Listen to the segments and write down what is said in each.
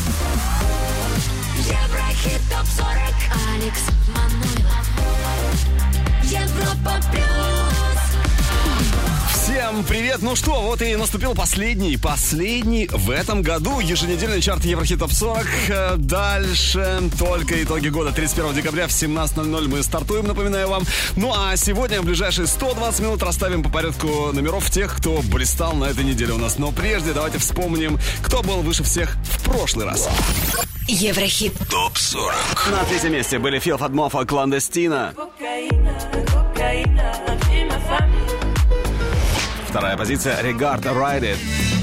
Еврохит ТОП-40. Алекс Манойлов. Европа плюс. Всем привет! Ну что, вот и наступил последний в этом году еженедельный чарт Еврохит ТОП-40. Дальше только итоги года. 31 декабря в 17:00 мы стартуем, напоминаю вам. Ну а сегодня в ближайшие 120 минут расставим по порядку номеров тех, кто блистал на этой неделе у нас. Но прежде давайте вспомним, кто был выше всех в прошлый раз. Еврохит ТОП-40. На третьем месте были Фил Фатмофа «Кландестина». Вторая позиция «Regard Ride It».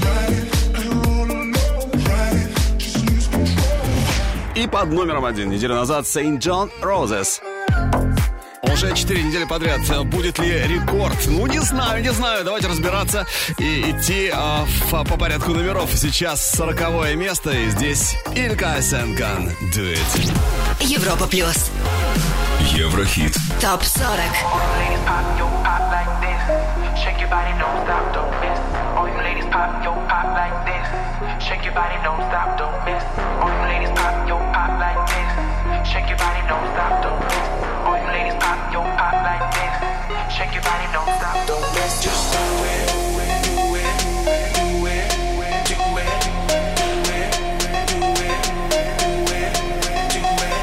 И под номером 1 неделю назад Saint John Roses. Уже 4 недели подряд. Будет ли рекорд? Ну, не знаю. Давайте разбираться и идти по порядку номеров. Сейчас 40-е место, и здесь Илька Сенкан. Do it. Европа плюс. Еврохит. ТОП-40. Shake your body, don't stop, don't miss. All you ladies pop, yo, pop like this. Shake your body, don't stop, don't miss. All you ladies pop, yo, pop like this. Shake your body, don't stop, don't miss. All you ladies pop, yo, pop like this. Shake your body, don't stop, don't miss. Just do it, do it, do it, do it, do it, do it, do it, do it, do it.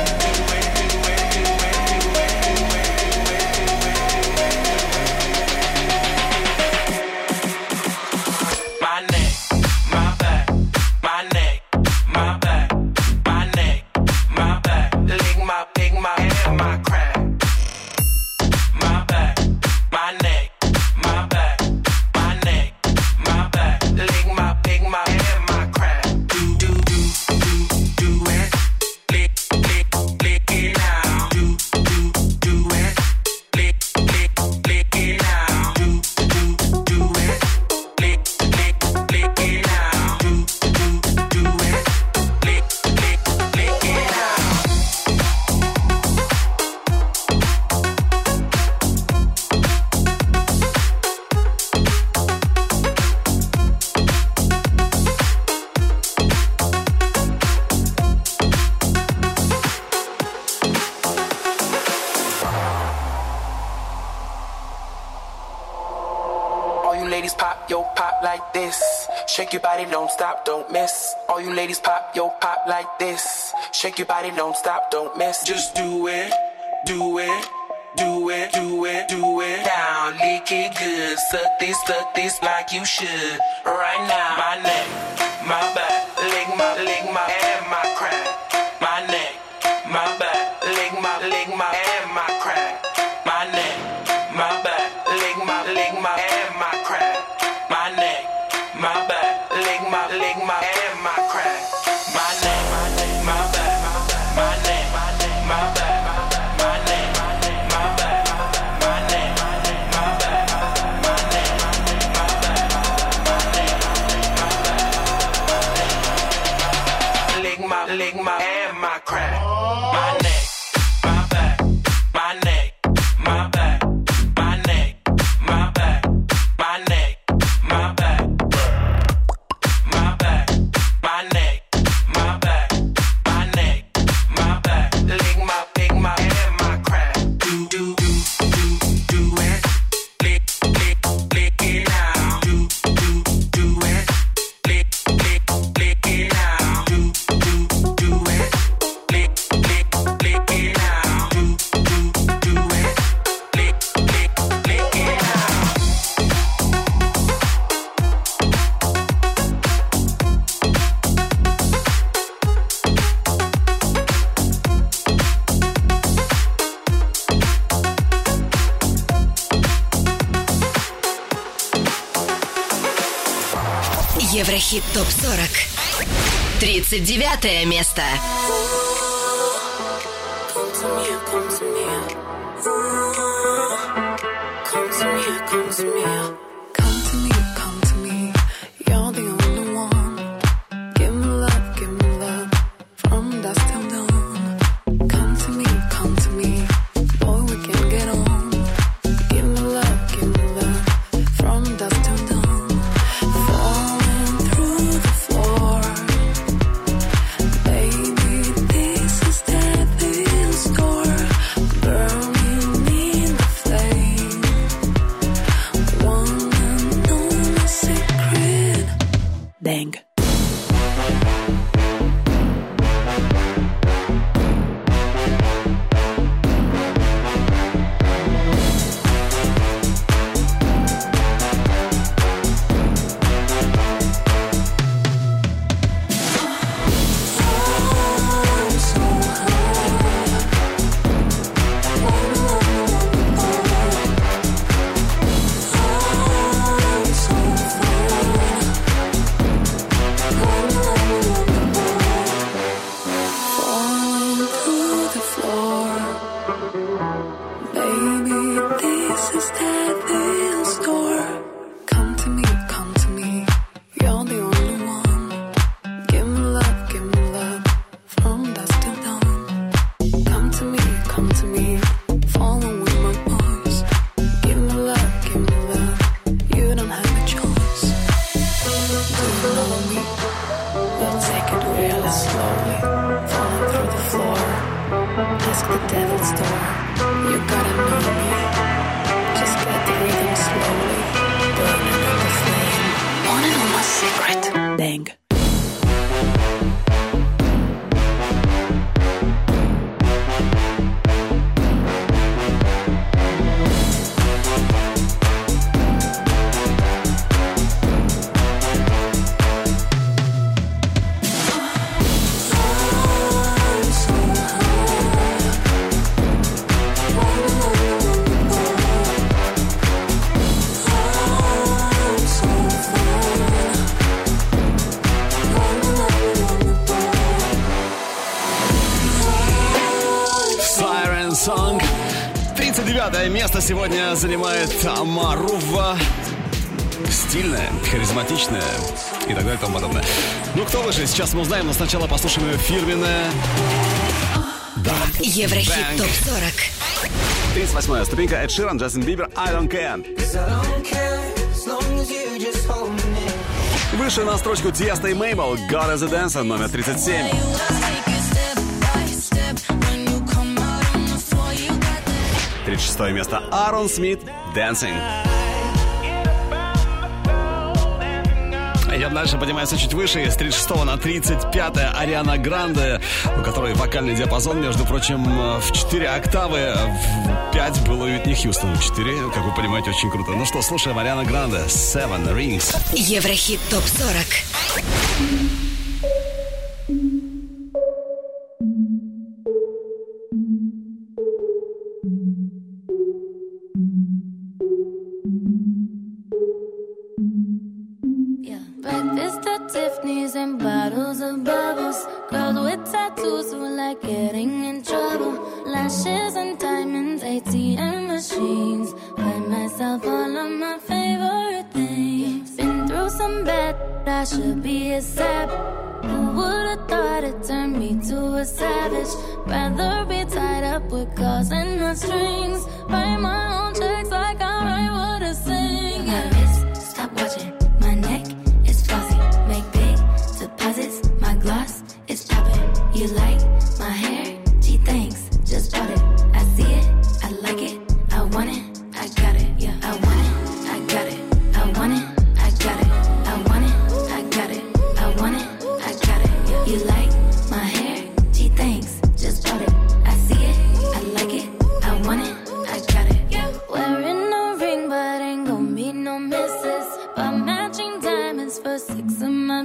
Shake your body, don't stop, don't miss. All you ladies pop, yo, pop like this. Shake your body, don't stop, don't miss. Just do it, do it, do it, do it, do it. Down, lick it good. Suck this like you should. Right now, my neck, my back, lick my and my crack. My neck, my back, lick my and my crack. My neck, my back, lick my and my crack. My neck, my back, lick my and my crack. My neck, my back, my neck, my back, my neck, my back, my neck, my back, my neck, my back, my neck, my back, lick my and my crack. My neck, my back, my neck, my back, my neck, my back, my neck, my back. Еврохит ТОП-40. 39 место. it slowly, falling through the floor. Ask the devil's door. You gotta know me. Just get the rhythm slowly, burning in the flame. Wanna know my secret? Bang. Song. 39 место сегодня занимает Марува. Стильная, харизматичная и так далее и тому подобное. Ну, кто выше, сейчас мы узнаем, но сначала послушаем ее фирменное... Да. Еврохит ТОП-40. 38-я ступенька. Эд Ширан, Джастин Бибер, I Don't Care. Выше на строчку Тиеста и Мейбл, God as a Dancer, номер 37. 36 место Аарон Смит, Dancing. Идем дальше, поднимается чуть выше. С 36 на 35 Ариана Гранде, у которой вокальный диапазон, между прочим, в 4 октавы. В 5 было у Уитни Хьюстон. 4, как вы понимаете, очень круто. Ну что, слушаем Ариана Гранде, Seven Rings. Еврохит ТОП-40. Breakfast at Tiffany's and bottles of bubbles. Girls with tattoos who like getting in trouble. Lashes and diamonds, ATM machines. Buy myself all of my favorite things. Been through some bad, I should be a sap. Who would've thought it turned me to a savage? Rather be tied up with calls and not strings. Write my own checks like I write what I sing. My wrist, stop watching. My neck is flossy. Make big deposits. My gloss is popping. You like my hair? Gee, thanks. Just bought it. I see it. I like it. I want it. I got it. Yeah, I want it. I got it. I want it. I got it. I want it. I got it. I want it. I got it. Yeah. You like my hair? Gee, thanks. Just bought it. I see it. I like it. I want it. I got it. Yeah. Wearing no ring, but ain't gon' be no misses. But matching diamonds for 6 of my.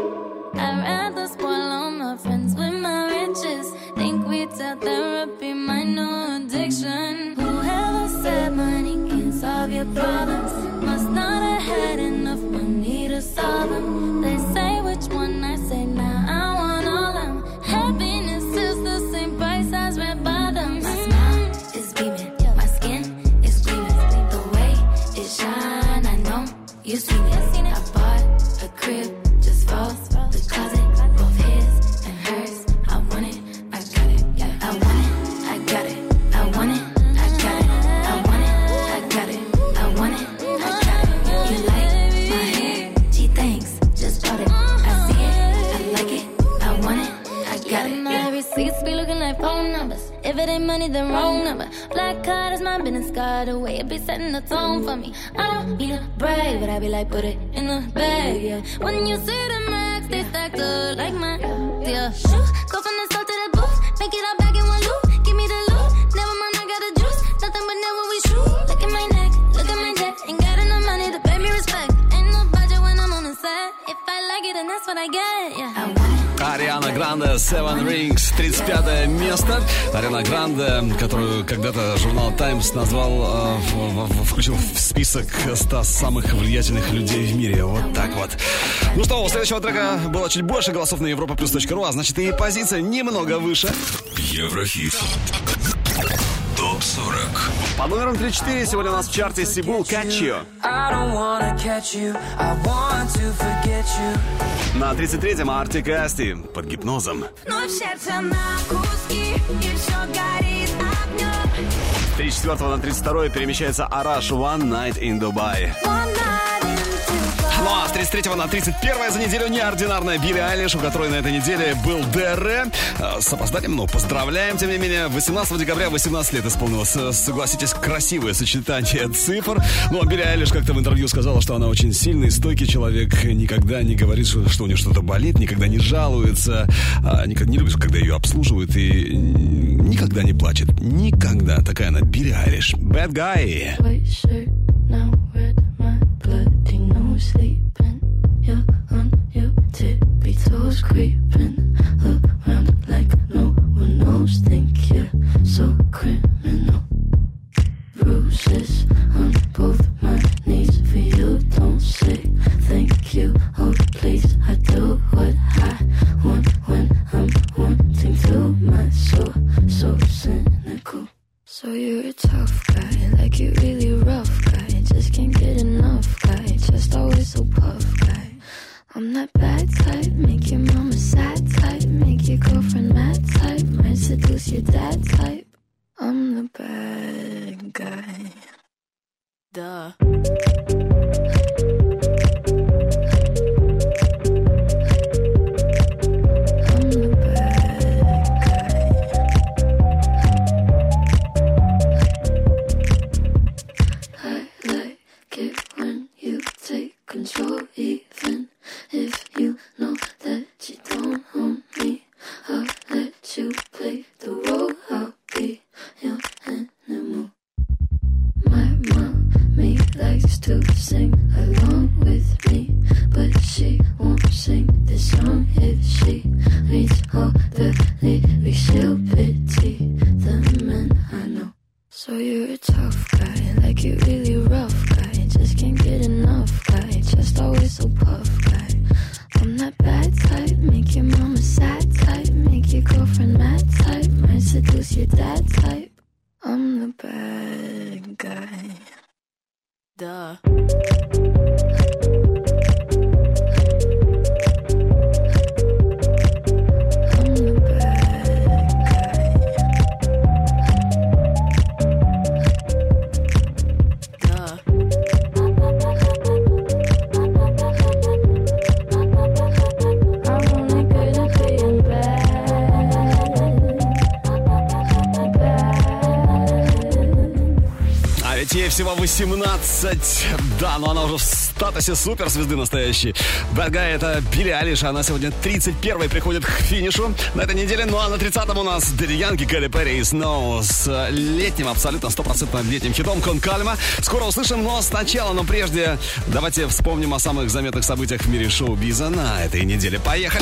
I'd rather spoil all my friends with my riches. Think we tell therapy my new addiction. Whoever said money can solve your problems must not have had enough money to solve them. They say which one, I say nah, I want all them. Happiness is the same price as red bottoms. My smile is beaming, my skin is gleaming. The way it shine, I know you've seen it. I bought a crib just for the closet, both his and hers. I want it, I got it. Yeah, I want it, I got it. I want it, I got it. I want it, I got it. I want it, I got it. You like my hair? Gee, thanks. Just bought it. I see it, I like it. I want it, I got it. My receipts be looking like phone numbers. If it ain't money, then wrong number. Black card is my business card. The way it be setting the tone for me. I don't need to brag, but I be like, put it in the bag, yeah. When you see the max, they stacked up like my, yeah. Go from the south to the booth, make it all back in one loop. Give me the loot, never mind, I got the juice. Nothing but never we shoot. Look at my neck, look at my neck. Ain't got enough money to pay me respect. Ain't no budget when I'm on the set. If I like it, then that's what I get, yeah. I want it. Ариана Гранде, Seven Rings, 35 место. Ариана Гранде, которую когда-то журнал Times назвал, включил в список 100 самых влиятельных людей в мире. Вот так вот. Ну что, у следующего трека было чуть больше голосов на europaplus.ru, а значит и позиция немного выше. Еврохит. ТОП-40. По номерам 34 сегодня у нас в чарте Сибул «Catch You». На 33-м Артик и Асти «Под гипнозом». Вновь сердце на куски, и все горит огнем. С 34 на 32 перемещается Араш «One Night in Dubai». Ну а с 33 на 31 за неделю неординарная Билли Айлиш, у которой на этой неделе был ДР. С опозданием, но поздравляем, тем не менее. 18 декабря 18 лет исполнилось. Согласитесь, красивое сочетание цифр. Ну а Билли Айлиш как-то в интервью сказала, что она очень сильный, стойкий человек. Никогда не говорит, что у нее что-то болит, никогда не жалуется. Никогда не любит, когда ее обслуживают. И никогда не плачет. Никогда. Такая она Билли Айлиш. Bad Guy. Sleeping, you're on your tippy toes, creeping around like no one knows. Think you're so criminal. Bruises on both my knees for you. Don't say thank you, oh please. I do what I want when I'm wanting to. My soul so cynical. So you're a tough guy, like you really rough guy. Just can't get enough guy, just always so puff guy. I'm that bad type, make your mama sad type, make your girlfriend mad type, might seduce your dad type. I'm the bad guy. Duh. Control, even if you know that you don't own me. I'll let you play the role. I'll be your animal. My mommy likes to sing along with me, but she won't sing this song if she reads all the lyrics. She'll pity the men I know. So you're a tough guy, like you really rough guy. Just can't get enough guy, just always so puff guy. I'm that bad type, make your mama sad type, make your girlfriend mad type, might seduce your dad type. I'm the bad guy. Duh. Ей всего 18. Да, но она уже в статусе суперзвезды настоящей. Bad Guy — это Билли Айлиш. Она сегодня 31-й приходит к финишу на этой неделе. Ну а на 30-м у нас Дэдди Янки, Кэти Перри и Snow с летним, абсолютно 100% летним хитом «Кон Кальма». Скоро услышим, но сначала, но прежде давайте вспомним о самых заметных событиях в мире шоу-биза на этой неделе. Поехали!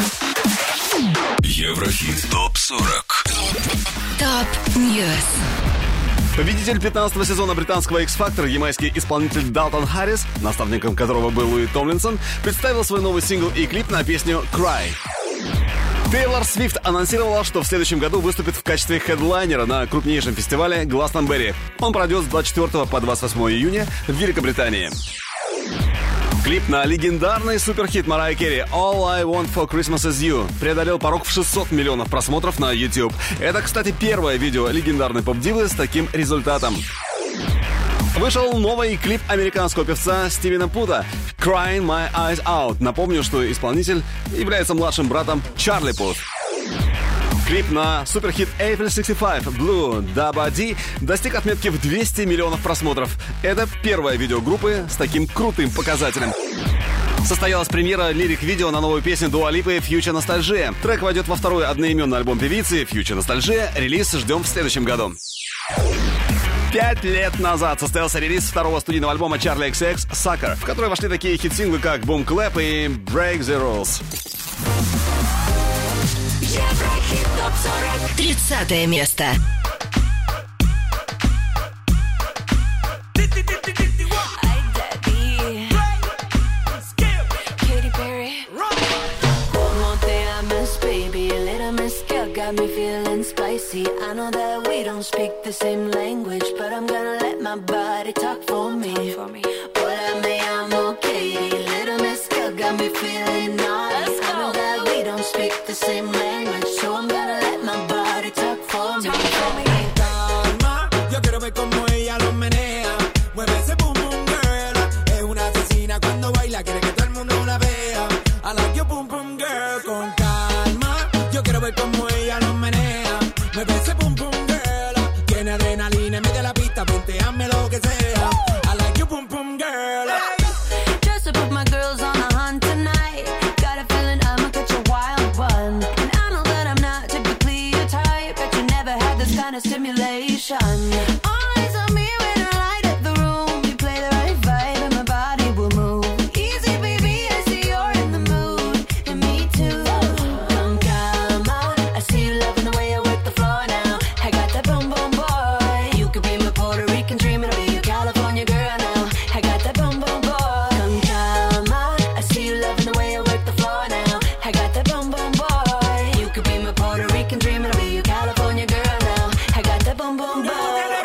Еврохит ТОП-40. ТОП-Ньюс. Победитель 15-го сезона британского X-Factor, ямайский исполнитель Далтон Харрис, наставником которого был Луи Томлинсон, представил свой новый сингл и клип на песню «Cry». Тейлор Свифт анонсировала, что в следующем году выступит в качестве хедлайнера на крупнейшем фестивале Гластонберри. Он пройдет с 24 по 28 июня в Великобритании. Клип на легендарный суперхит Марайи Керри «All I Want for Christmas Is You» преодолел порог в 600 миллионов просмотров на YouTube. Это, кстати, первое видео легендарной поп-дивы с таким результатом. Вышел новый клип американского певца Стивена Пута «Crying My Eyes Out». Напомню, что исполнитель является младшим братом Чарли Пут. Клип на суперхит April 65 Blue Dabba D достиг отметки в 200 миллионов просмотров. Это первое видео группы с таким крутым показателем. Состоялась премьера лирик-видео на новую песню Дуа Липы «Future Nostalgia». Трек войдет во второй одноименный альбом певицы «Future Nostalgia». Релиз ждем в следующем году. 5 лет назад состоялся релиз второго студийного альбома Charli XCX «Sucker», в который вошли такие хит-синглы, как «Boom Clap» и «Break the Rules». Еврохит ТОП-40. 30 место. Got me feeling spicy. I know that we don't speak the same language, but I'm gonna let my body talk for me. Hola, me llamo Katie. Little Miss Girl got me feeling naughty. I know that we don't speak the same language, so I'm gonna let my body talk for me. Calma, yo quiero ver cómo ella lo menea. Mueve ese boom boom girl. Es una asesina cuando baila. ver como ella lo menea. Mueve ese pum pum girl. Tiene adrenalina en medio de la pista, ponteame lo que sea. I like you pum pum girl. Just to put my girls on the hunt tonight. Got a feeling I'ma catch a wild one. And I know that I'm not typically your type, but you never had this kind of stimulation. Eyes on me when I light up the room. You play the right vibe and my body will move. Easy baby, I see you're in the mood. And me too. Come on, I see you loving the way I work the floor now. I got that boom boom boy. You could be my Puerto Rican dream and I'll be your California girl now. I got that boom boom boy. Come on, I see you loving the way I work the floor now. I got that boom boom boy. You could be my Puerto Rican dream and I'll be your California girl now. I got that boom boom boy.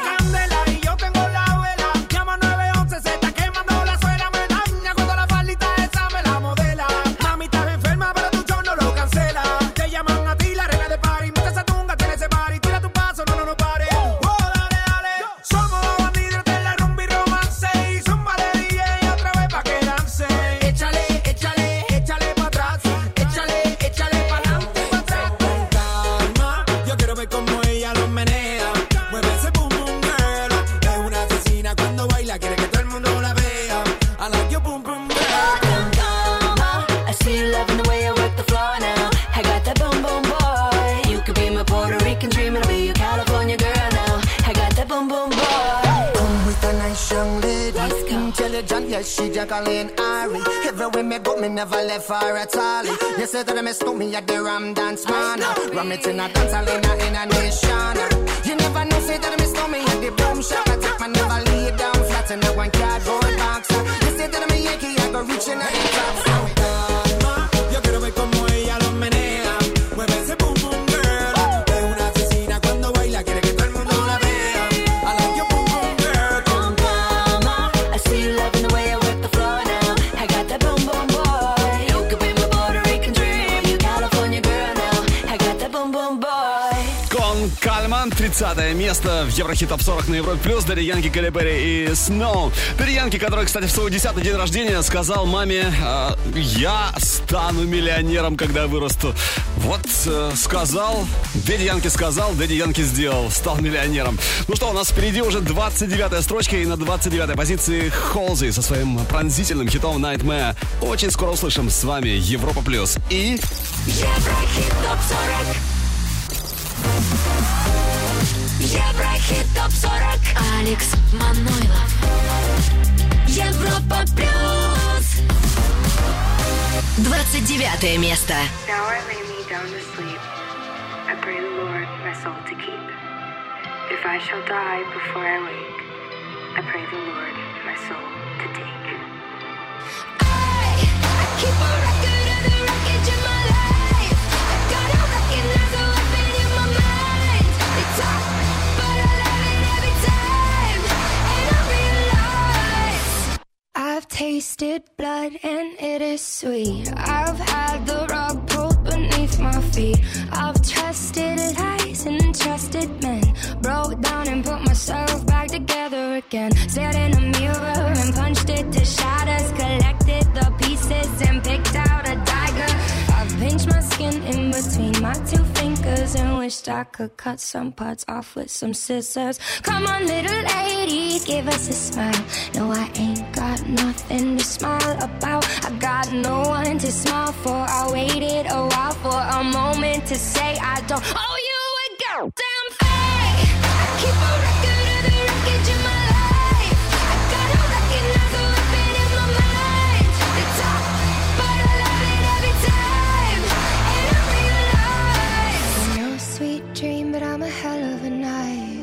She Jacqueline Ari. Everywhere me go, me never left her at all. You say that I miss me at the Ram Dance Man. Ram it in a dance hall in a nation. You never know, say that I miss me at the Boom Shop. I take my never lay down flat in a one cardboard box. You say that I'm a Yankee, I go reaching at the top. Yo quiero ver como ella lo menea. Mueve ese boom boom girl. Es una asesina cuando baila, quiere que todo el mundo la vea. I like your boom boom girl. Come on, I see you loving the way I work the floor now. I got that boom boom boy. You could be my Puerto Rican dream. You California girl now. I got that boom boom boy. Кон Кальман, 30 место в Еврохит Топ 40 на Европе Плюс. Дэдди Янки, Кэлли Перри и Snow. Дэдди Янки, который, кстати, в свой 10-й день рождения сказал маме: я стану миллионером, когда вырасту. Вот сказал, Дэдди Янки сказал, Дэдди Янки сделал, стал миллионером. Ну что, у нас впереди уже 29-я строчка, и на 29-й позиции Холзи со своим пронзительным хитом Nightmare. Очень скоро услышим. С вами Европа Плюс и Еврохит Топ 40. Еврохит Топ 40. Алекс Манойлов. Европа Плюс. 29 место. Now I lay me down to sleep. I pray the Lord my soul to keep. If I shall die before I wake, I pray the Lord my soul to take. I keep a record of the wreckage in my life. I gotta recognize the weapon in my mind. They talk, but I love it every time. And I realize I've tasted blood and it is sweet. I've had the rug pulled beneath my feet. I've trusted lies and trusted men. Broke down and put myself back together again. Stared in a mirror and punched it to shatters. Collected the pieces and picked out a dagger. I've pinched my skin in between my two fingers and wished I could cut some parts off with some scissors. Come on, little lady, give us a smile. No, I ain't got nothing to smile about. I got no one to smile for. I waited a while for a moment to say I don't owe you a goddamn thing. I keep a record of the wreckage in my life. I gotta recognize the weapon in my mind. They talk, but I love it every time. And I realize no sweet dream, but I'm a hell of a night.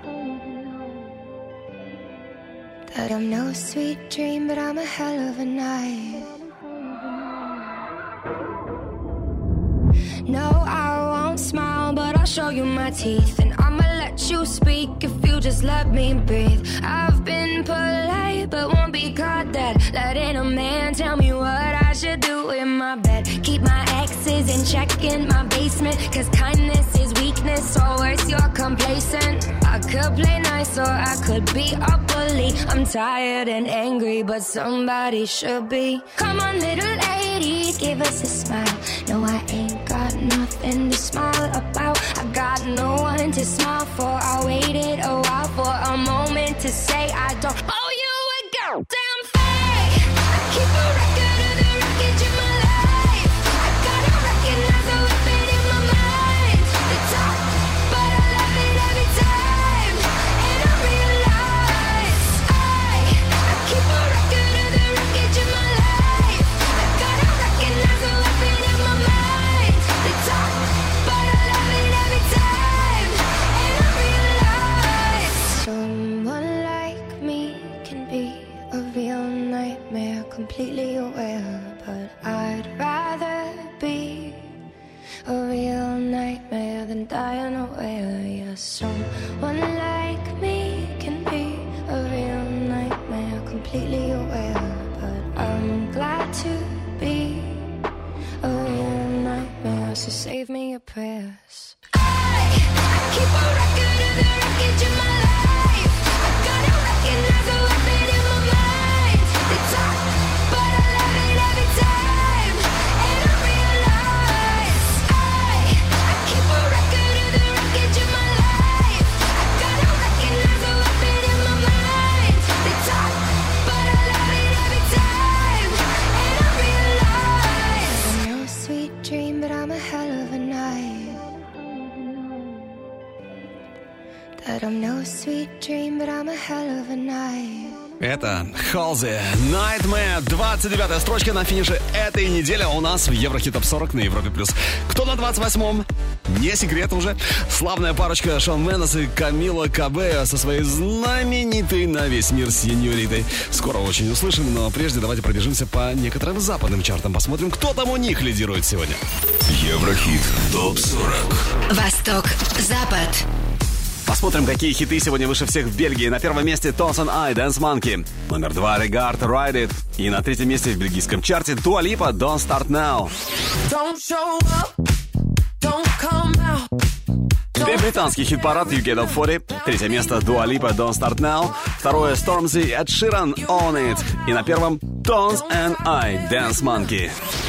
That I'm no sweet dream, but I'm a hell of a night. No, I won't smile, but I'll show you my teeth. And I'ma let you speak if you just let me breathe. I've been polite, but won't be caught dead. Letting a man tell me what I should do in my bed. Keep my exes in check in my basement. Cause kindness is weakness, or worse, you're complacent. I could play nice or I could be a bully. I'm tired and angry, but somebody should be. Come on, little lady, give us a smile. No, I ain't got nothing to smile too small for. I waited a while for a moment to say I don't owe you a goddamn thing. I keep a record of the wreckage in my life. I gotta recognize the weapon in my mind. The top, but I love it every time. And I realize I keep a record of the wreckage in my life. I gotta recognize the weapon in my mind. The top, but I love it every time. And I realize someone like me can be a real nightmare, completely aware. But I'd rather be a real nightmare than die unaware. Yeah, someone like me can be a real nightmare, completely aware. But I'm glad to be a real nightmare, so save me your prayers. I keep a record of the wreckage in my life. I gotta recognize the weapon in my mind. The top, but I love it every time. And I realize I keep a record of the wreckage in my life. I gotta recognize the weapon in my mind. The top, but I love it every time. And I realize I'm no sweet dream, but I'm a hell of a night. That I'm no sweet dream, but I'm a hell of a night. Это Halsey, Nightmare, 29-я строчка на финише этой недели у нас в Еврохит Топ 40 на Европе+. Кто на 28-м? Не секрет уже. Славная парочка Шон Мендес и Камила Кабео со своей знаменитой на весь мир сеньоритой. Скоро очень услышим, но прежде давайте пробежимся по некоторым западным чартам. Посмотрим, кто там у них лидирует сегодня. Еврохит Топ 40. Восток, Запад. Посмотрим, какие хиты сегодня выше всех в Бельгии. На первом месте Tones and I, Dance Monkey. Номер 2 Regard, Ride It. И на третьем месте в бельгийском чарте Dua Lipa, Don't Start Now. Don't show up, don't come out. Теперь британский хит-парад UK Top 40. Третье место Dua Lipa, Don't Start Now. Второе Stormzy, Ed Sheeran, Own It. И на первом Tones and I, Dance Monkey.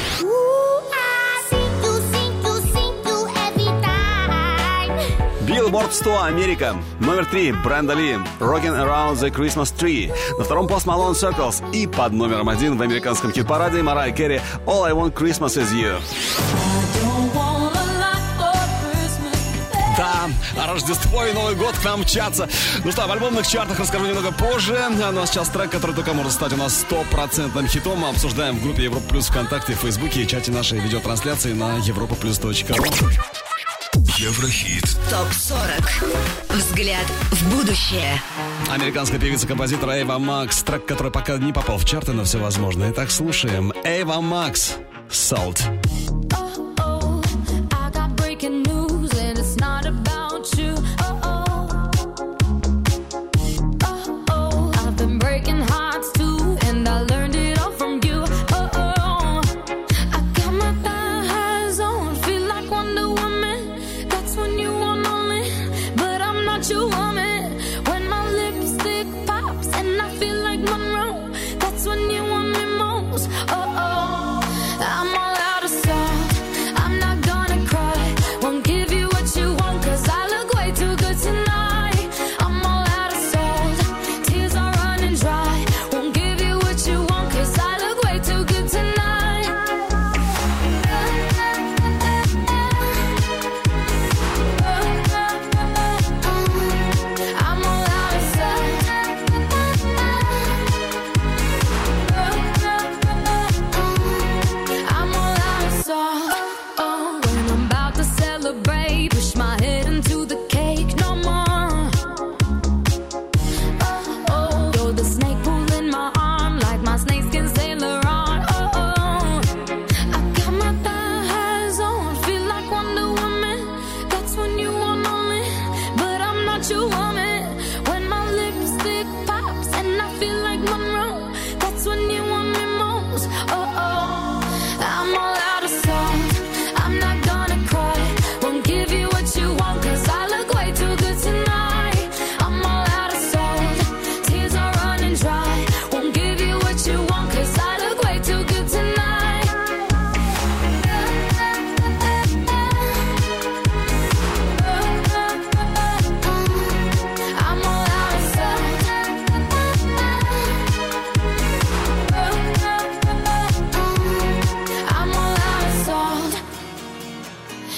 Billboard 100 Америка. Номер 3 Бренда Ли, Rockin' Around the Christmas Tree. На втором Post Malone Circles. И под номером 1 в американском хит-параде Mariah Carey, All I Want Christmas Is You. Да, Рождество и Новый год к нам мчатся. Ну что, в альбомных чартах расскажу немного позже. Но сейчас трек, который только может стать у нас 100% хитом. Мы обсуждаем в группе Европа Плюс ВКонтакте, в Фейсбуке и чате нашей видеотрансляции на europaplus.ru. Еврохит Топ 40. Взгляд в будущее. Американская певица-композитор Эйва Макс. Трек, который пока не попал в чарты, но все возможно. Итак, слушаем. Эйва Макс. Salt. You want me when my lipstick pops and I feel like Monroe. That's when you want me most. Oh, oh, I'm all out of salt. I'm not gonna cry. Won't give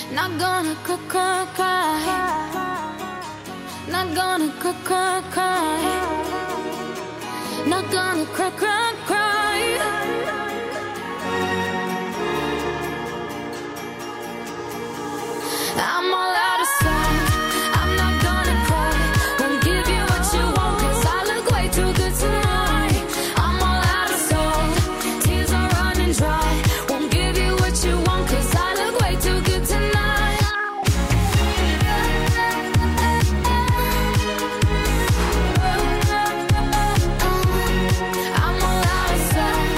Not gonna cry. Not gonna cry. Not gonna cry. I'm all out of sight. I'm not gonna cry. Won't give you what you want, 'cause I look way too good tonight. I'm all out of salt. Tears are running dry. Won't give you what you want, 'cause I look way too good tonight. I'm all out of sight.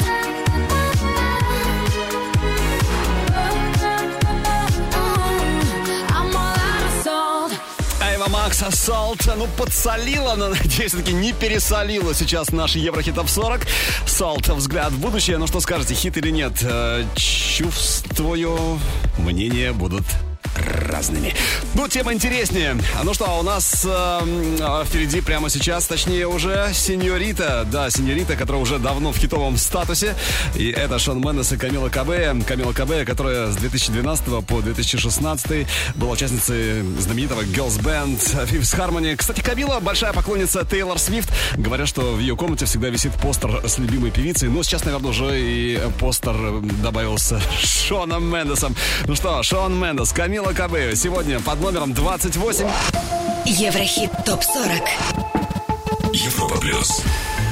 I'm all out of salt. Айва Макс, Salt. Ну, подсолила, но, надеюсь, все-таки не пересолила сейчас наш Еврохит Топ 40. Salt, взгляд в будущее. Ну, что скажете, хит или нет? Чувствую, мнения будут разными. Ну, тема интереснее. Ну что, у нас впереди прямо сейчас, точнее уже Сеньорита. Да, Сеньорита, которая уже давно в хитовом статусе. И это Шон Мендес и Камила Кабея. Камила Кабея, которая с 2012 по 2016 была участницей знаменитого Girls Band Fifth Harmony. Кстати, Камила большая поклонница Тейлор Свифт. Говорят, что в ее комнате всегда висит постер с любимой певицей. Но сейчас, наверное, уже и постер добавился с Шоном Мендесом. Ну что, Шон Мендес, Камила Кабея. Сегодня под номером 28. Еврохит Топ 40. Европа плюс.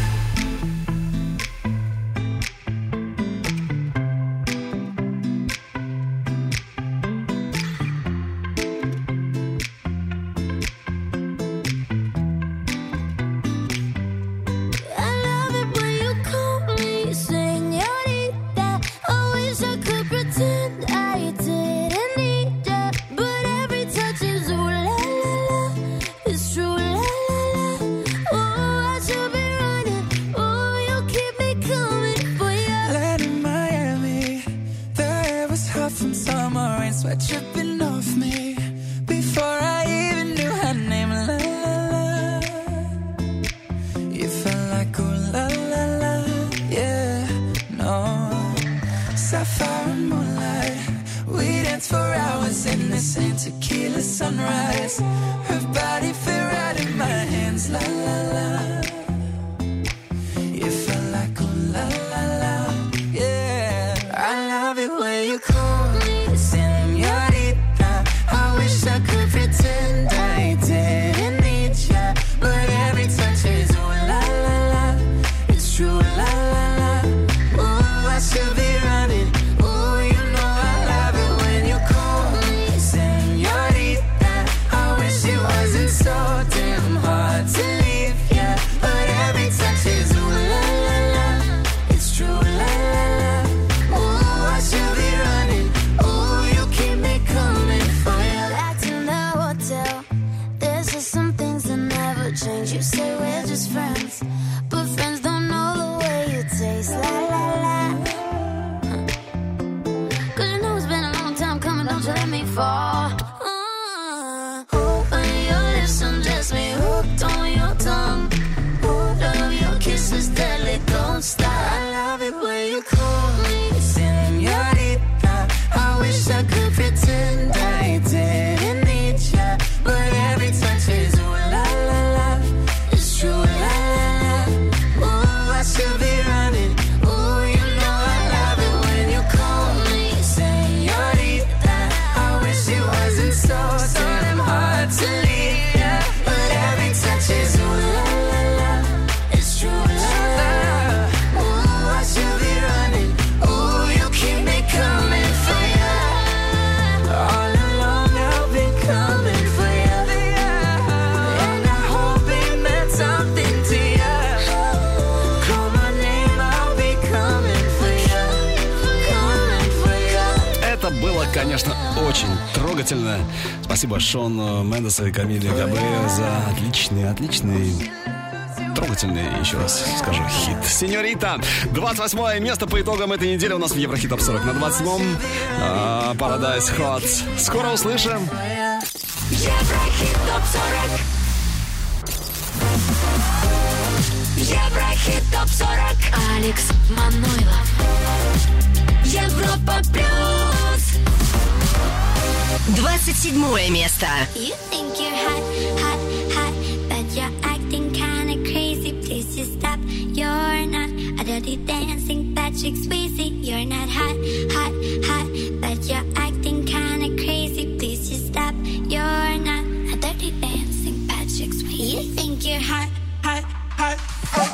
Конечно, очень трогательно. Спасибо Шону Мендесу и Камиле Кабея за отличный, трогательный, еще раз скажу, хит. Сеньорита. 28 место по итогам этой недели у нас в Еврохит Топ 40. На 27-м Paradise Hot. Скоро услышим. Еврохит Топ 40. Еврохит Топ 40. Алекс Манойлов. Европа плюс. 27 место. You think you're hot, hot, hot, but you're acting kinda crazy. Please just stop. You're not a dirty dancing Patrick Swayze. You're not hot, hot, hot, but you're acting kinda crazy. Please just stop. You're not a dirty dancing Patrick Swayze. You think you're hot, hot, hot, hot.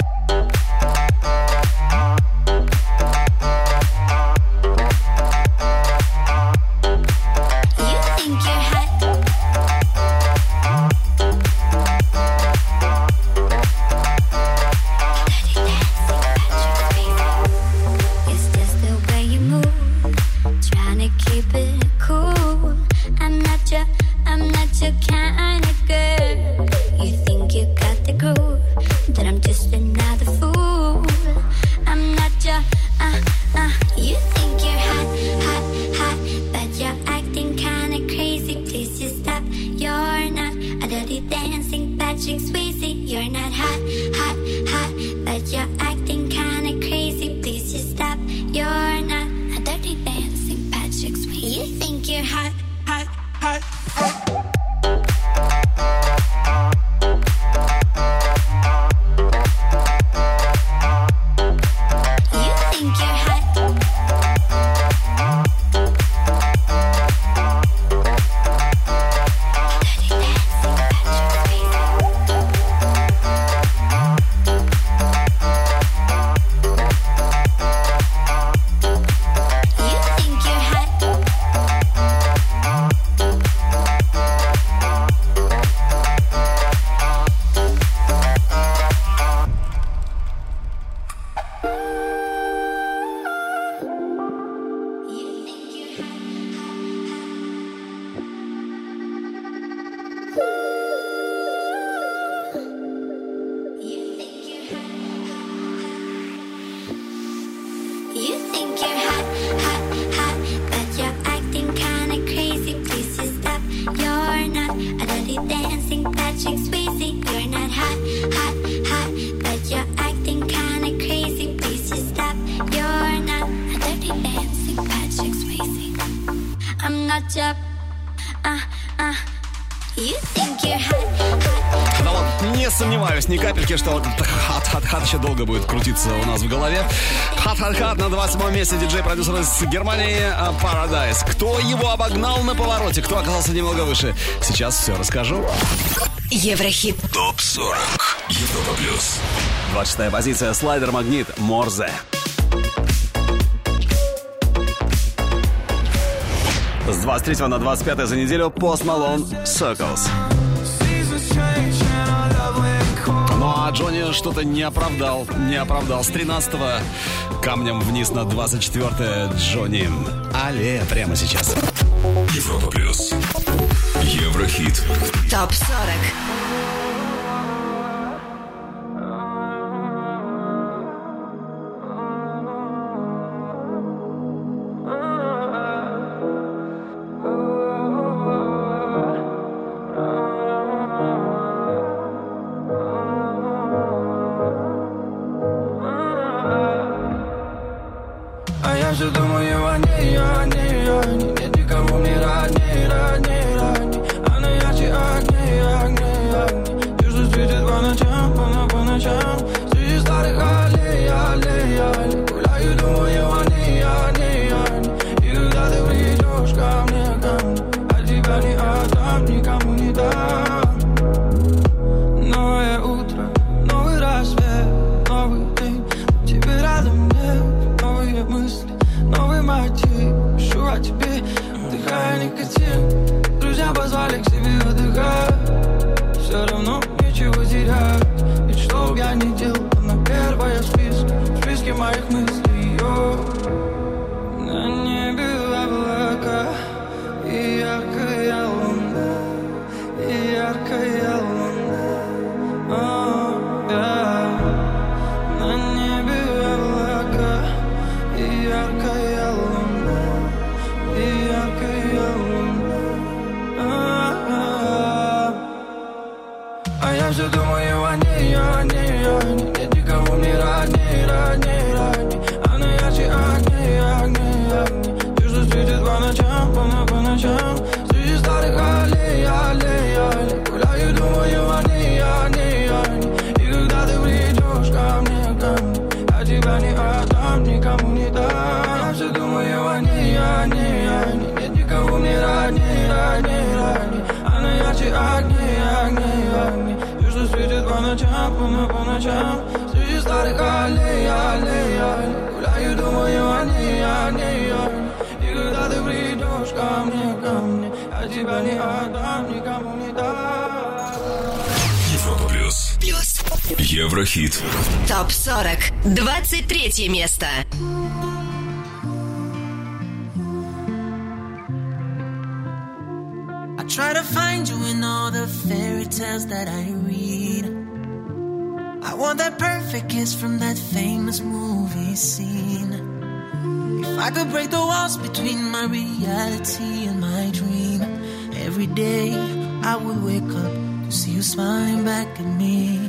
Да вот, не сомневаюсь ни капельки, что вот этот хат-хат-хат еще долго будет крутиться у нас в голове. Хат-хат-хат на 27 месте диджей-продюсер из Германии Paradise. Кто его обогнал на повороте, кто оказался немного выше, сейчас все расскажу. Еврохит ТОП-40 Европа плюс. 26-я позиция, слайдер Магнит, Морзе. С 23 на 25 за неделю Post Malone, Circles. Ну а Джонни что-то не оправдал. С 13-го камнем вниз на 24-е Джонни. Але прямо сейчас. Европа плюс. Еврохит. ТОП-40. Ты что светит по ночам, по ночам. ночам среди старых аллей. Гуляю, думаю о ней. И когда ты придешь ко мне, я тебя не отдам, никому не дам. Я все думаю о ней. Нет никого мне родней. Она ярче огней. И что светит по ночам среди старых аллей. Гуляю, думаю о ней. И когда ты придешь ко мне, я тебя не отдам, никому не дам. Европа плюс. Еврохит. ТОП-40. 23 место. I try to find you in all the fairy tales that I read. I want that perfect kiss from that famous movie scene. If I could break the walls between my reality and my dream, every day I would wake up to see you smiling back at me.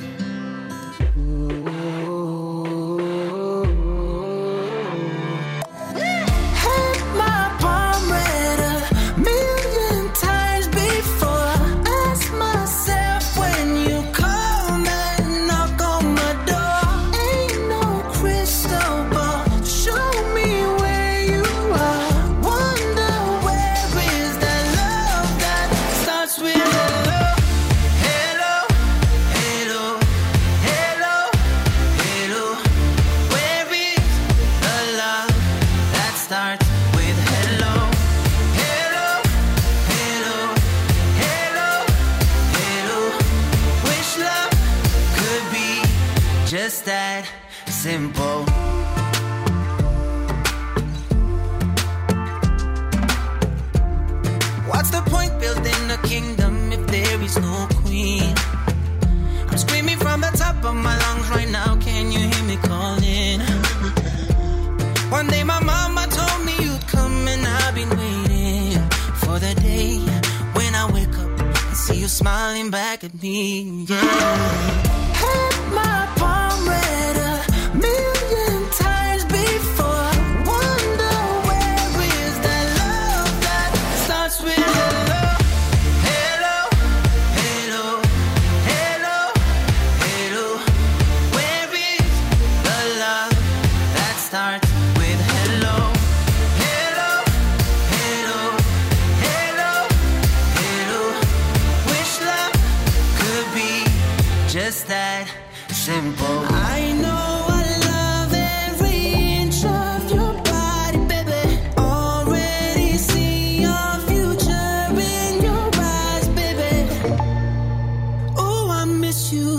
Simple. What's the point building a kingdom if there is no queen? I'm screaming from the top of my lungs right now. Can you hear me calling? One day my mama told me you'd come, and I've been waiting for the day when I wake up and see you smiling back at me. Yeah. Had my palm read a million times before. Wonder where is that love that starts with hello, hello, hello, hello, hello. Where is the love that starts with hello, hello, hello, hello, hello? Wish love could be just that simple. I know I love every inch of your body, baby. Already see your future in your eyes, baby. Oh, I miss you.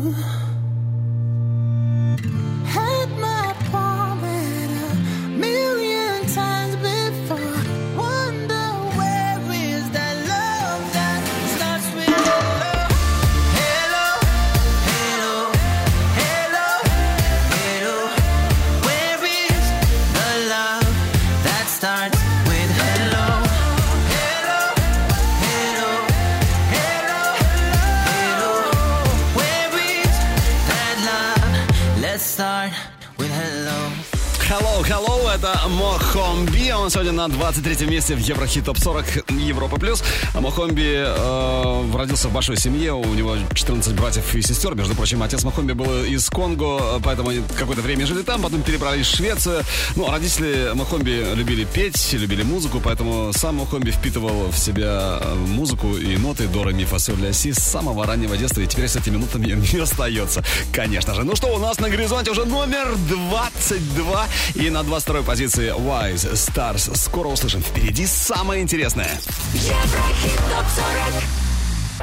Had my palm read a million times before. Wonder where is that love that starts with hello, hello, hello, hello, hello. Where is the love that starts with hello, hello, hello, hello, hello? Where is that love? Let's start with hello. Hello, это Мохомби. Он сегодня на 23-м месте в Еврохит ТОП-40 Европа+. А Мохомби родился в большой семье. У него 14 братьев и сестер. Между прочим, отец Мохомби был из Конго, поэтому они какое-то время жили там, потом перебрались в Швецию. Ну, родители Мохомби любили петь, любили музыку, поэтому сам Мохомби впитывал в себя музыку и ноты до, ре, ми, фа, соль, ля, си с самого раннего детства. И теперь с этими нотами не остается, конечно же. Ну что, у нас на горизонте уже номер 22. И на 22-й позиции Wise Stars. Скоро услышим. Впереди самое интересное. Еврохит ТОП-40.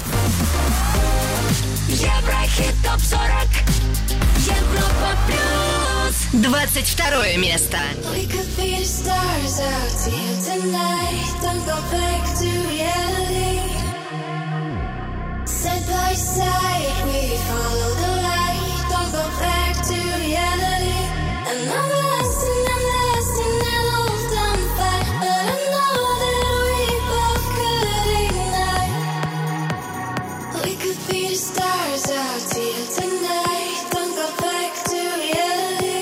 Еврохит ТОП-40. Европа плюс. 22 место. We could be the stars out here tonight. Don't go back to reality. Side by side, we follow the light. Don't go back to reality. And I'm lost in that old dumb fight. But I know that we both could ignite. We could be the stars out here tonight. Don't go back to reality.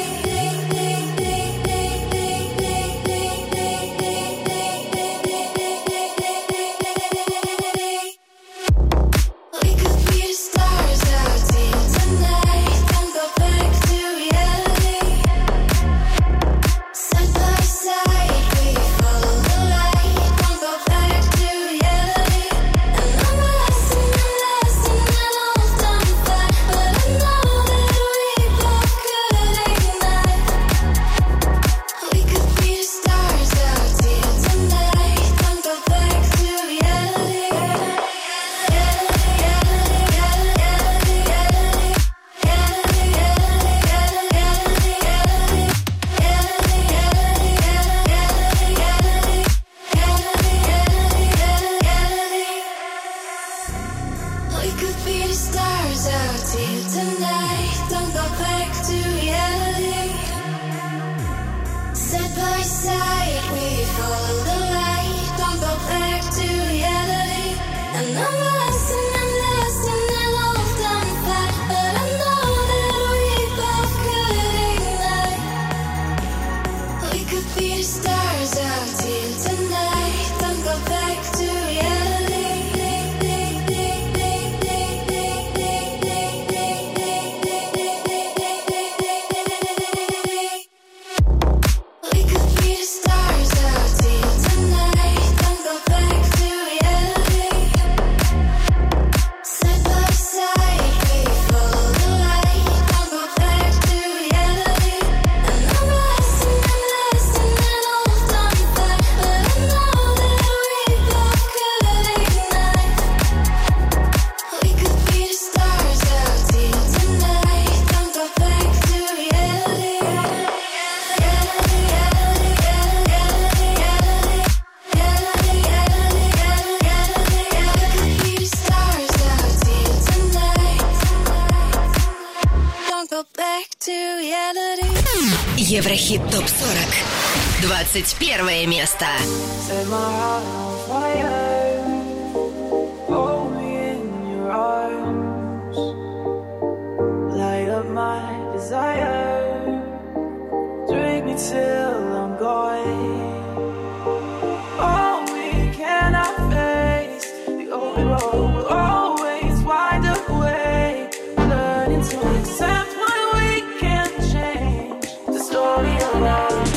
Еврохит ТОП-40. 21 место. Set my heart on fire. Hold me in your arms. Light up my desire. Drink me till I'm gone. Oh, we cannot face the open road. We'll always wind up away. Learning to accept when we can't change the story of our lives.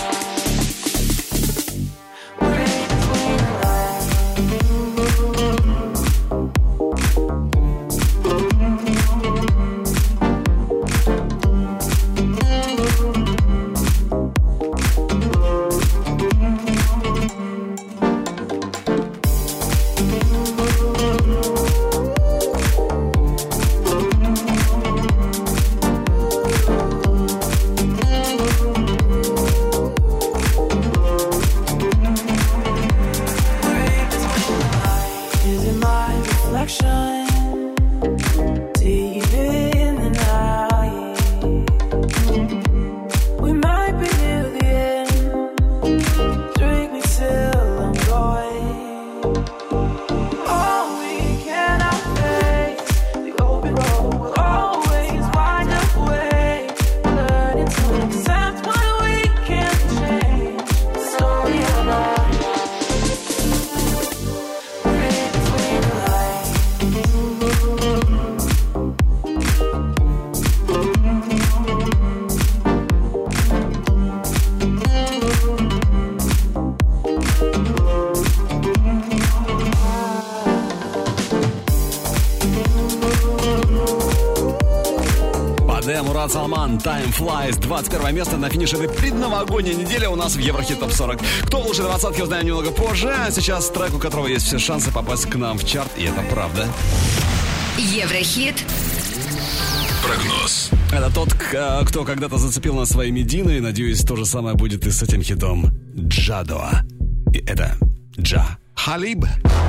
Салман, Time Flies, 21 место на финише этой предновогодней недели у нас в Еврохит ТОП-40. Кто лучше двадцатки, узнаем немного позже. А сейчас трек, у которого есть все шансы попасть к нам в чарт, и это правда. Еврохит. Прогноз. Это тот, кто когда-то зацепил нас своей Мединой. Надеюсь, то же самое будет и с этим хитом Джадо. И это Джа Халиб.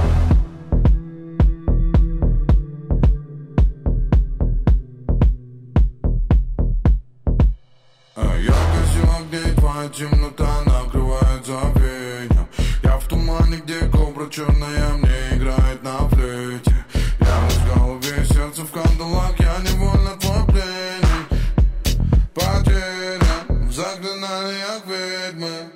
Темнота накрывает забвением. Я в тумане, где кобра черная мне играет на флейте. Я в голове, сердце в кандалах, я невольно твой пленник. Потерян в заклинаниях ведьмы.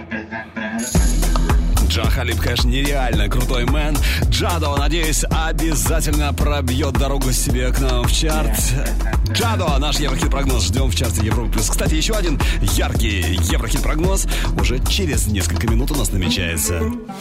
Джа Халиб, конечно, нереально крутой мэн. Джадо, надеюсь, обязательно пробьет дорогу себе к нам в чарт. Джадо, наш Еврохит-прогноз ждем в чарте Европы+. Кстати, еще один яркий Еврохит-прогноз уже через несколько минут у нас намечается.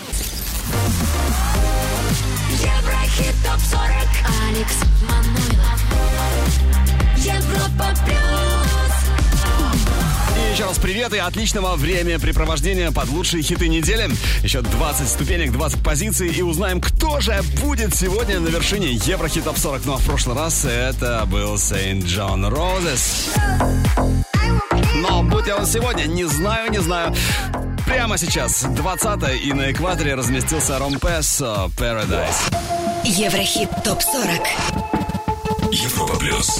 Еврохит ТОП-40. Алекс Манойлов. Европа плюс. И еще раз привет и отличного времяпрепровождения под лучшие хиты недели. Еще 20 ступенек, 20 позиций. И узнаем, кто же будет сегодня на вершине Еврохит ТОП-40. Ну а в прошлый раз это был Saint John Roses. Но будь он сегодня, не знаю. Прямо сейчас 20-е и на экваторе разместился Ромпессо Paradise. Еврохит ТОП-40. Европа плюс.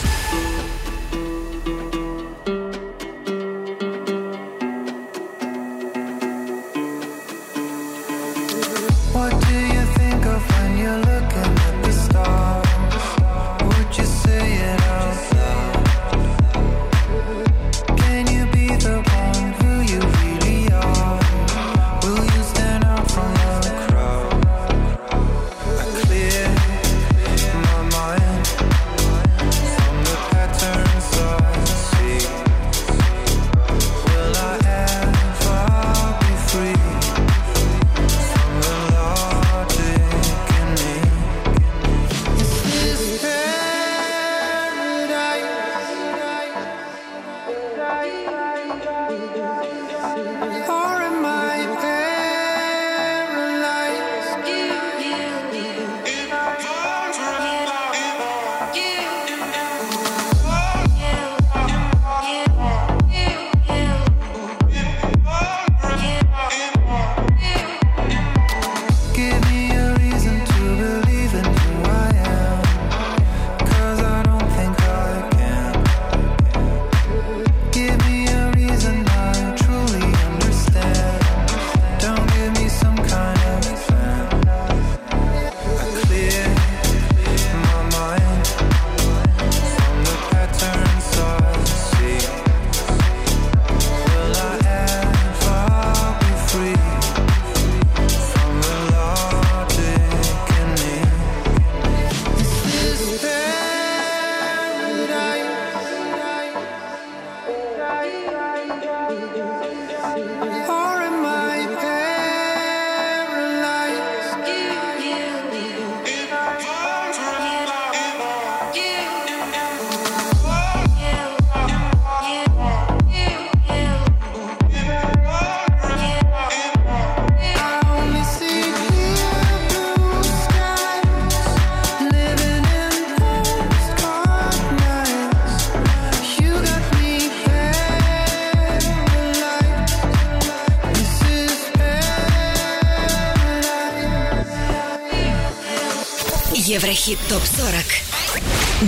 Еврохит ТОП-40.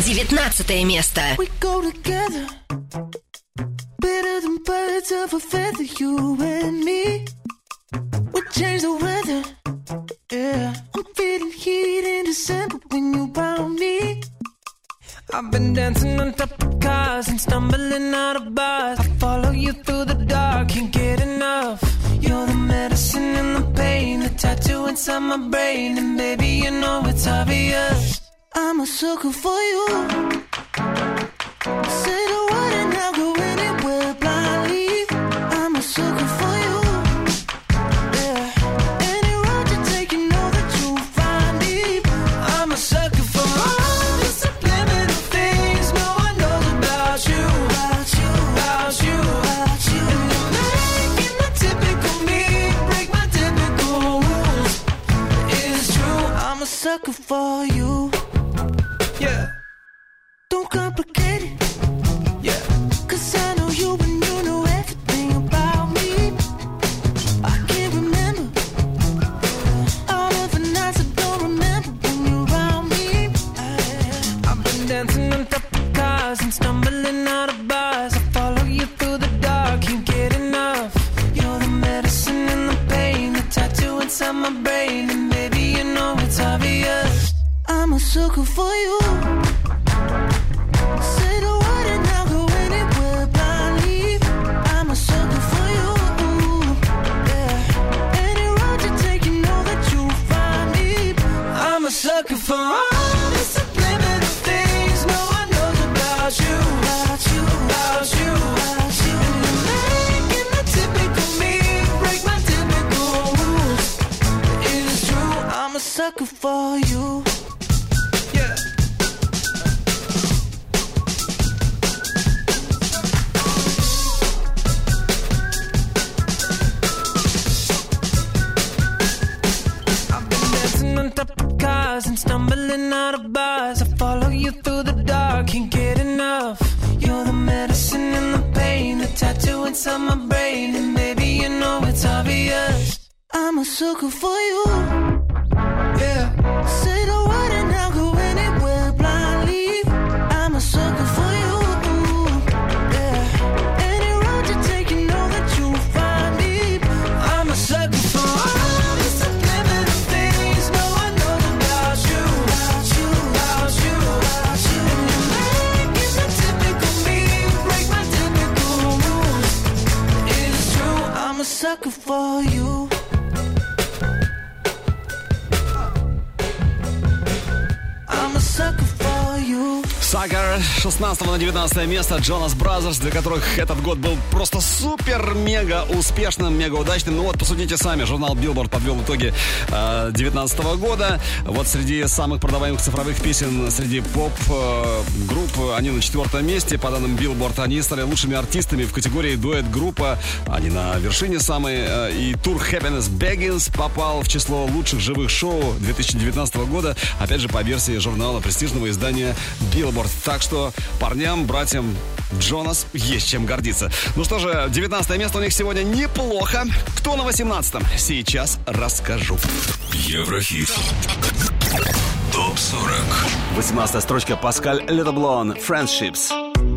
19 место. We go together, better than birds of a feather, you and me. We change the weather, yeah. I'm feeling heat in December when you found me. I've been dancing on top of cars and stumbling out of bars. I follow you through the dark, can't get enough. You're the medicine and the pain, the tattoo inside my brain. And baby, you know it's obvious, I'm a sucker for you. Say the word and I'll go anywhere blindly. I'm a sucker for you. Yeah, any road you take, you know that you'll find me. I'm a sucker for all the subliminal things no one knows about you. About you, about you, about you. And you're making the typical me break my typical rules. It's true, I'm a sucker for you. Yeah. Don't complicate it. Yeah. 'Cause I know you and you know everything about me. I can't remember all of the nights I don't remember when you're around me. I've been dancing on top of cars and stumbling out of bars. I follow you through the dark, can't get enough. You're the medicine and the pain, the tattoo inside my brain. And baby, you know it's obvious, I'm a sucker for you. Say the word and I'll go anywhere blindly. I'm a sucker for you. sucker for you. Yeah. I've been dancing on top of cars and stumbling out of bars. I follow you through the dark, can't get enough. You're the medicine and the pain, the tattoo inside my brain, and baby you know it's obvious. I'm a sucker for you. Yeah. Say the word and I'll go anywhere blindly. I'm a sucker for you. Yeah. Any road you take, you know that you'll find me. I'm a sucker for all the subliminal things no one knows about you. About you, about you, about you. And you make it the typical me, break my typical rules. It's true, I'm a sucker for you. Sucker, 16 на 19 место. Jonas Brothers, для которых этот год был просто супер-мега успешным, мега удачным. Ну вот, посудите сами, журнал Billboard подвел итоги 2019 года. Вот среди самых продаваемых цифровых песен, среди поп-групп, они на 4-м месте. По данным Billboard, они стали лучшими артистами в категории дуэт-группа. Они на вершине самые. И тур Happiness Begins попал в число лучших живых шоу 2019 года. Опять же, по версии журнала престижного издания Billboard. Так что парням, братьям Джонас есть чем гордиться. Ну что же, 19 место у них сегодня неплохо. Кто на 18-м? Сейчас расскажу. Еврохит. ТОП-40. 18-я строчка. Паскаль Ледоблон. Friendships.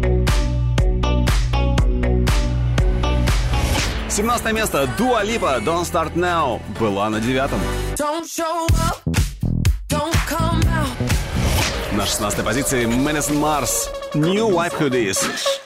17 место. Дуа Липа. Don't Start Now. Была на 9-м. На 16-й позиции Madison Mars, New Wife Who Dis.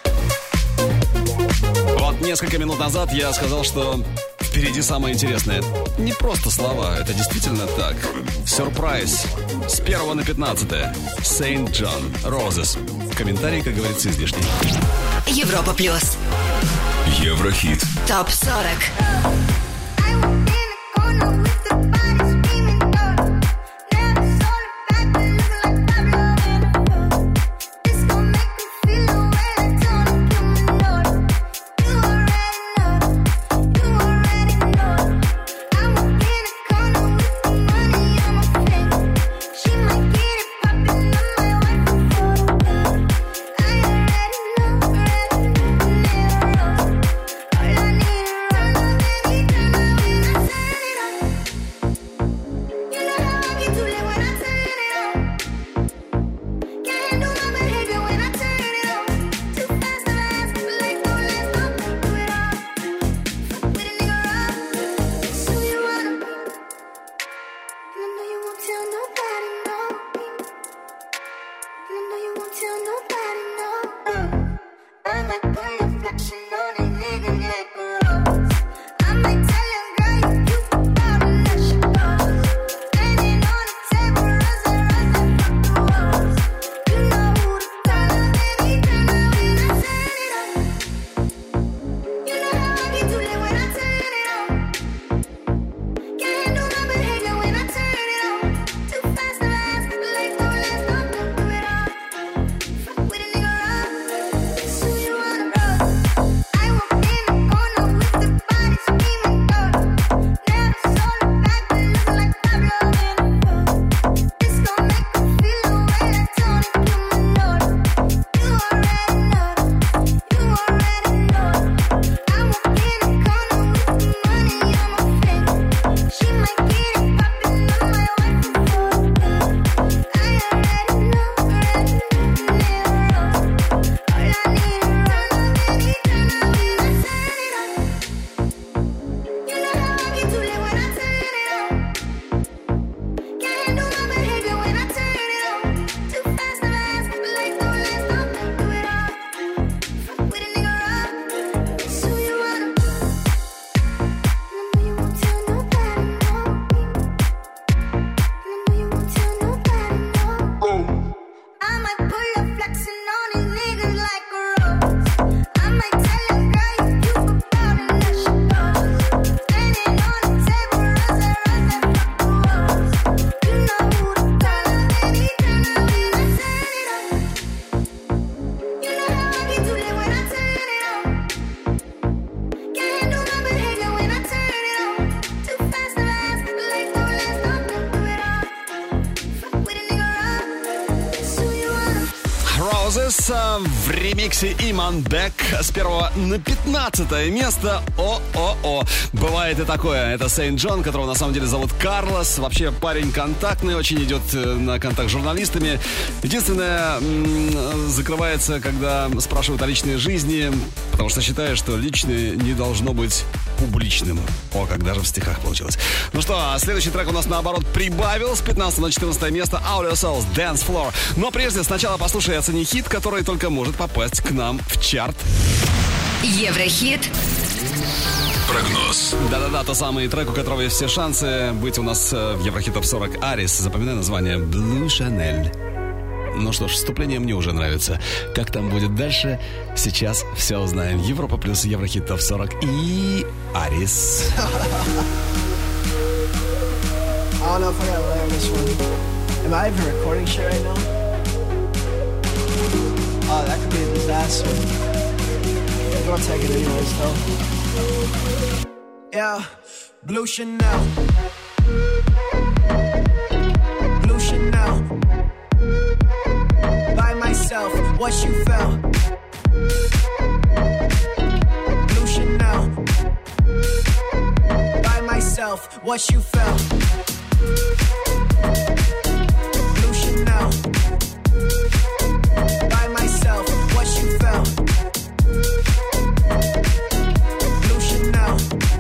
Вот несколько минут назад я сказал, что впереди самое интересное. Не просто слова, это действительно так. Сюрприз. С 1 на 15. Saint John, Roses. Комментарий, как говорится, излишний. Европа плюс. Еврохит. ТОП-40. I need to run on any Roses в ремиксе Imanbek с 1 на 15 место. О-о-о. Бывает и такое. Это Сейнт Джон, которого на самом деле зовут Карлос. Вообще парень контактный, очень идет на контакт с журналистами. Единственное, закрывается, когда спрашивают о личной жизни, потому что считает, что личное не должно быть публичным. О, как даже в стихах получилось. Ну что, следующий трек у нас наоборот прибавил с 15 на 14 место. Audio Souls, Dance Floor. Но прежде сначала послушай и оцени хит, который только может попасть к нам в чарт. Еврохит. Прогноз. Да-да-да, тот самый трек, у которого есть все шансы быть у нас в Еврохит Топ 40 Арис. Запоминай название Blue Chanel. Ну что ж, вступление мне уже нравится. Как там будет дальше, сейчас все узнаем. Европа плюс Еврохит Топ 40 и Арис. I don't know if I gotta learn this one. Am I even recording shit right now? Oh, that could be a disaster. I'm gonna take it anyways, though. Yeah, Blue Chanel. Blue Chanel. By myself, what you felt. Blue Chanel. By myself, what you felt. Blue Chanel. By myself, what you felt. Blue Chanel.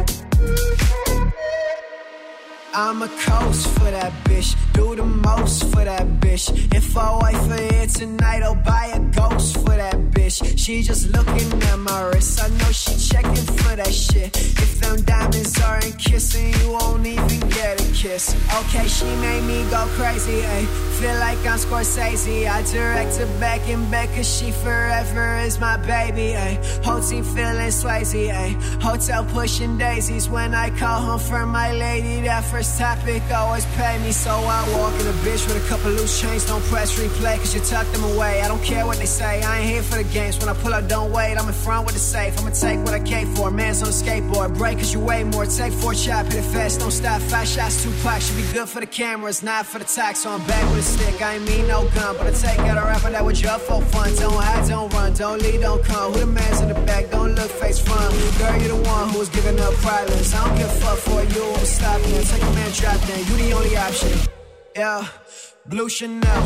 I'm a coast for that bitch. Do the most for that bitch. If I wait for here tonight, I'll buy a ghost for that bitch. She just looking at my wrist. I know she checking for that shit. If them diamonds aren't kissing, you won't even get a kiss. Okay, she made me go crazy, ayy. Feel like I'm Scorsese. I direct her back and back, cause she forever is my baby, ayy. Whole team feeling Swayze, ayy. Hotel pushing daisies. When I call home for my lady, that first topic always pay me. So I walk in a bitch with a couple loose chains. Don't press replay, cause you tuck them away. I don't care what they say, I ain't here for the games. When I pull up, don't wait, I'm in front with the safe. I'ma take what I came for, man's on a skateboard. Break cause you weigh more, take 4 shots, hit it fast, don't stop. 5 shots, 2 packs, should be good for the cameras, not for the tax. So I'm back with a stick, I ain't mean no gun. But I take out a rapper that was up for fun. Don't hide, don't run, don't lead, don't come. Who the man's in the back, don't look face front. Girl, you the one who was giving up privates. I don't give a fuck for you, I'm stopping it. Take a man, drop down, you the only option. Yeah, Blue Chanel.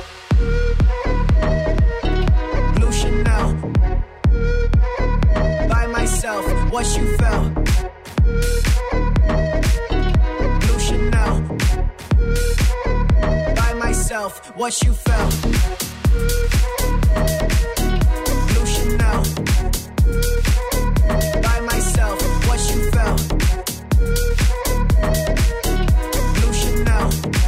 Blue Chanel. By myself, what you felt. Blue Chanel. By myself, what you felt. Blue Chanel. By myself, what you felt. Blue Chanel.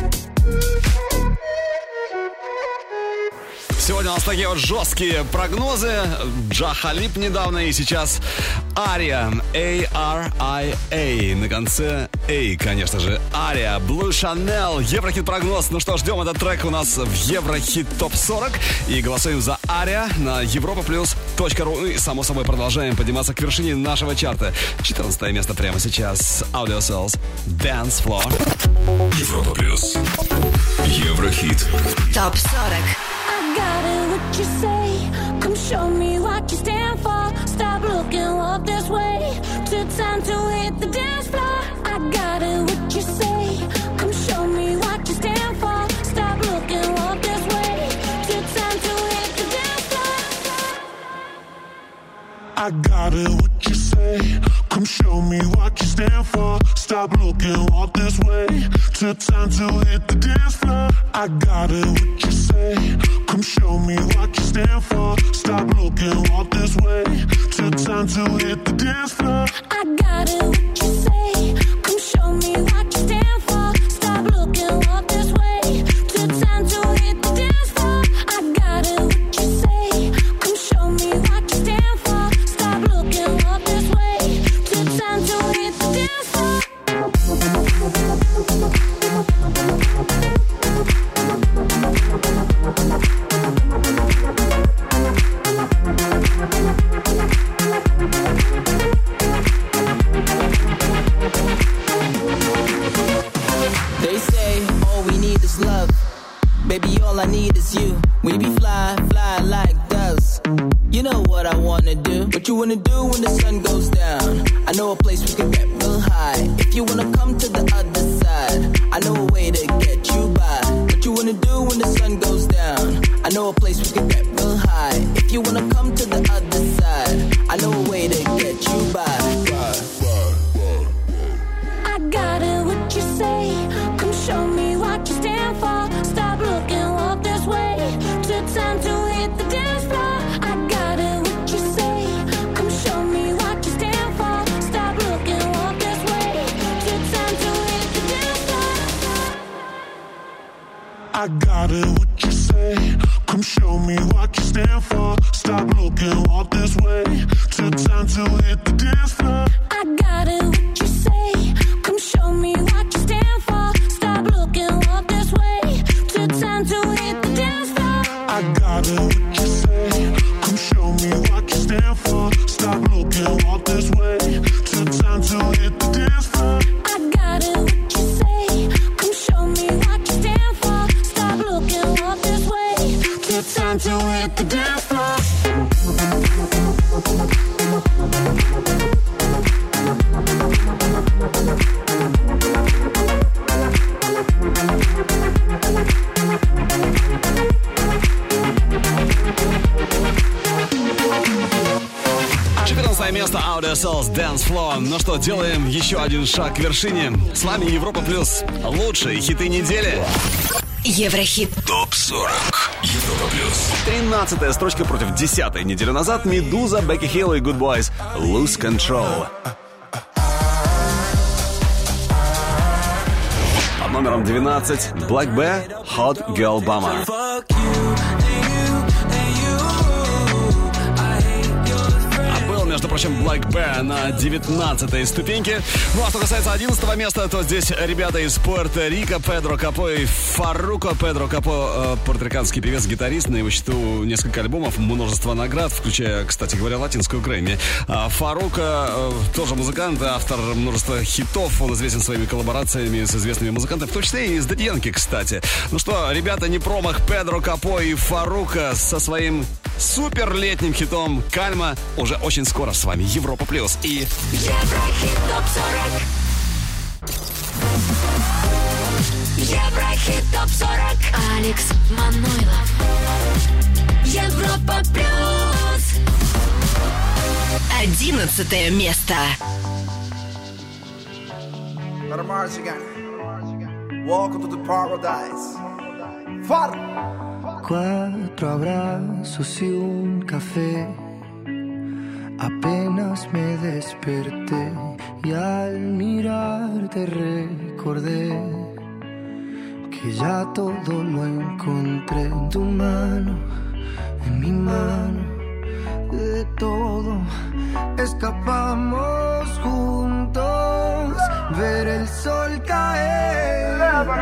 Сегодня у нас такие вот жесткие прогнозы. Джа Халиб недавно и сейчас Ария. A-R-I-A. На конце A, конечно же. Ария. Blue Chanel. Еврохит прогноз. Ну что, ждем этот трек у нас в Еврохит Топ 40. И голосуем за Ария на europaplus.ru. И, само собой, продолжаем подниматься к вершине нашего чарта. 14 место прямо сейчас. Audio Cells. Dance Floor. Европа плюс. Еврохит. Топ 40. I got it, what you say. Come show me what you stand for. Stop looking, walk this way. Took time to hit the dance floor. I got it, what you say. Come show me what you stand for. Stop looking, walk this way. Took time to hit the dance floor. I got it, what you say. Come show me what you stand for. Stop looking, walk this way. Took time to hit the dance floor. I got it, what you say. Come show me what you stand for. Stop looking, walk this way. Took time to hit the dance floor. I got it, what you say. Come show me what you stand for. Stop looking, walk this way. Took time to hit the dance floor. I got it, what you say. Come show me what you stand for. Stop looking, walk this way. Took time to hit the dance floor. They say all we need is love. Baby, all I need is you. We be fly, fly like wanna do? What you wanna do when the sun goes down? I know a place we can get real high. If you wanna come to the other side, I know a way to get you by. What you wanna do when the sun goes down? I know a place we can get real high. If you wanna come to the other side, I know a way to get you by. I got it, what you say? Come show me what you stand for. Stop looking, walk this way. Took time to hit the dance floor. I got it, what you say? Come show me what you stand for. Stop looking, walk this way. Took time to hit the dance floor. I got it, what you say? Come show me what you stand for. Stop looking, walk this way. Took time to hit the dance floor. I got it, what you say? Come show me what you stand for. Stop looking, walk this way. Took time to hit the dance floor. I got it, what you say? Come show me what you stand for. Stop looking, walk this way. Took time to hit the dance floor. I got it, what you say? Come show me what you stand for. Stop looking, walk this way. Took time to hit the dance floor. Место Audio Souls Dance Floor. Ну что, делаем еще один шаг к вершине. С вами Европа Плюс. Лучшие хиты недели. Еврохит. ТОП-40. Европа Плюс. 13-я строчка против 10-й. Неделю назад Медуза, Бекки Хилл и Good Boys. Lose Control. Под номером 12 Black Bear, Hot Girl Bummer. Между прочим, Black Bear на 19-й ступеньке. Ну а что касается 11-го места, то здесь ребята из Пуэрто-Рико, Педро Капо и Фарруко. Педро Капо, пуэрториканский певец, гитарист, на его счету несколько альбомов, множество наград, включая, кстати говоря, латинскую Грэмми. Фарруко тоже музыкант, автор множества хитов, он известен своими коллаборациями с известными музыкантами, в том числе и с Дэдди Янки, кстати. Ну что, ребята, не промах, Педро Капо и Фарруко со своим супер летним хитом «Кальма» уже очень скоро. С вами Европа Плюс и Еврохит ТОП-40. Еврохит ТОП-40. Алекс Манойлов. Европа Плюс. 11 место. Welcome to the paradise. Far. 4 abrazos y un café. Apenas me desperté y al mirarte recordé que ya todo lo encontré en tu mano, en mi mano. De todo escapamos juntos, ver el sol caer.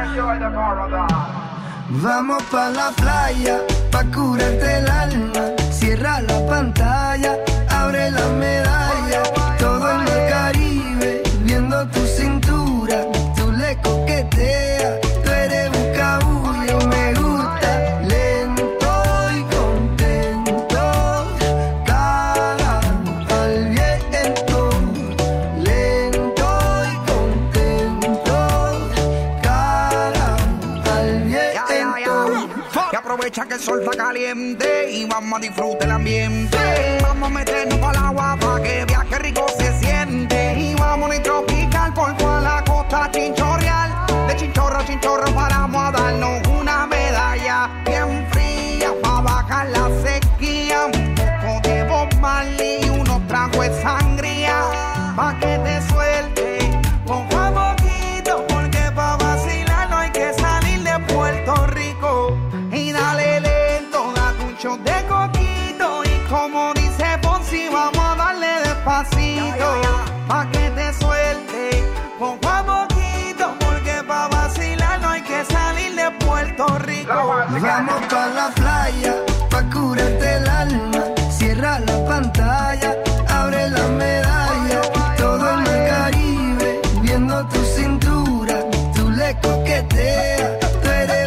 Vamos pa' la playa, pa' curarte el alma. Cierra la pantalla, abre la medalla. Todo en el Caribe, viendo tu cintura. Tú le coqueteas, tú eres buscabulla. Me gusta lento y contento. Cara al viento, lento y contento. Cara al viento. Y aprovecha que el sol está caliente y vamos a disfrutar el ambiente. Vamos a meternos para el agua para que viaje rico se siente. Y vamos a tropical por toda la costa chinchorreal. De chinchorro a chinchorro paramos a darnos una medalla bien fría para bajar la sequía. Un poco de Bob Marley y unos tragos de sangría pa' que te suelte poco a poquito, porque pa' vacilar no hay que salir de Puerto Rico. Y dale lento, date un shot de coquito. Y como dice Ponzi, vamos a darle despacito pa' que te suelte poco a poquito, porque pa' vacilar no hay que salir de Puerto Rico. Vamos pa' la playa, pa' curarte el alma. Cierra la pantalla, abre la medalla. Todo en el Caribe, viendo tu cintura. Tú le coqueteas, tú eres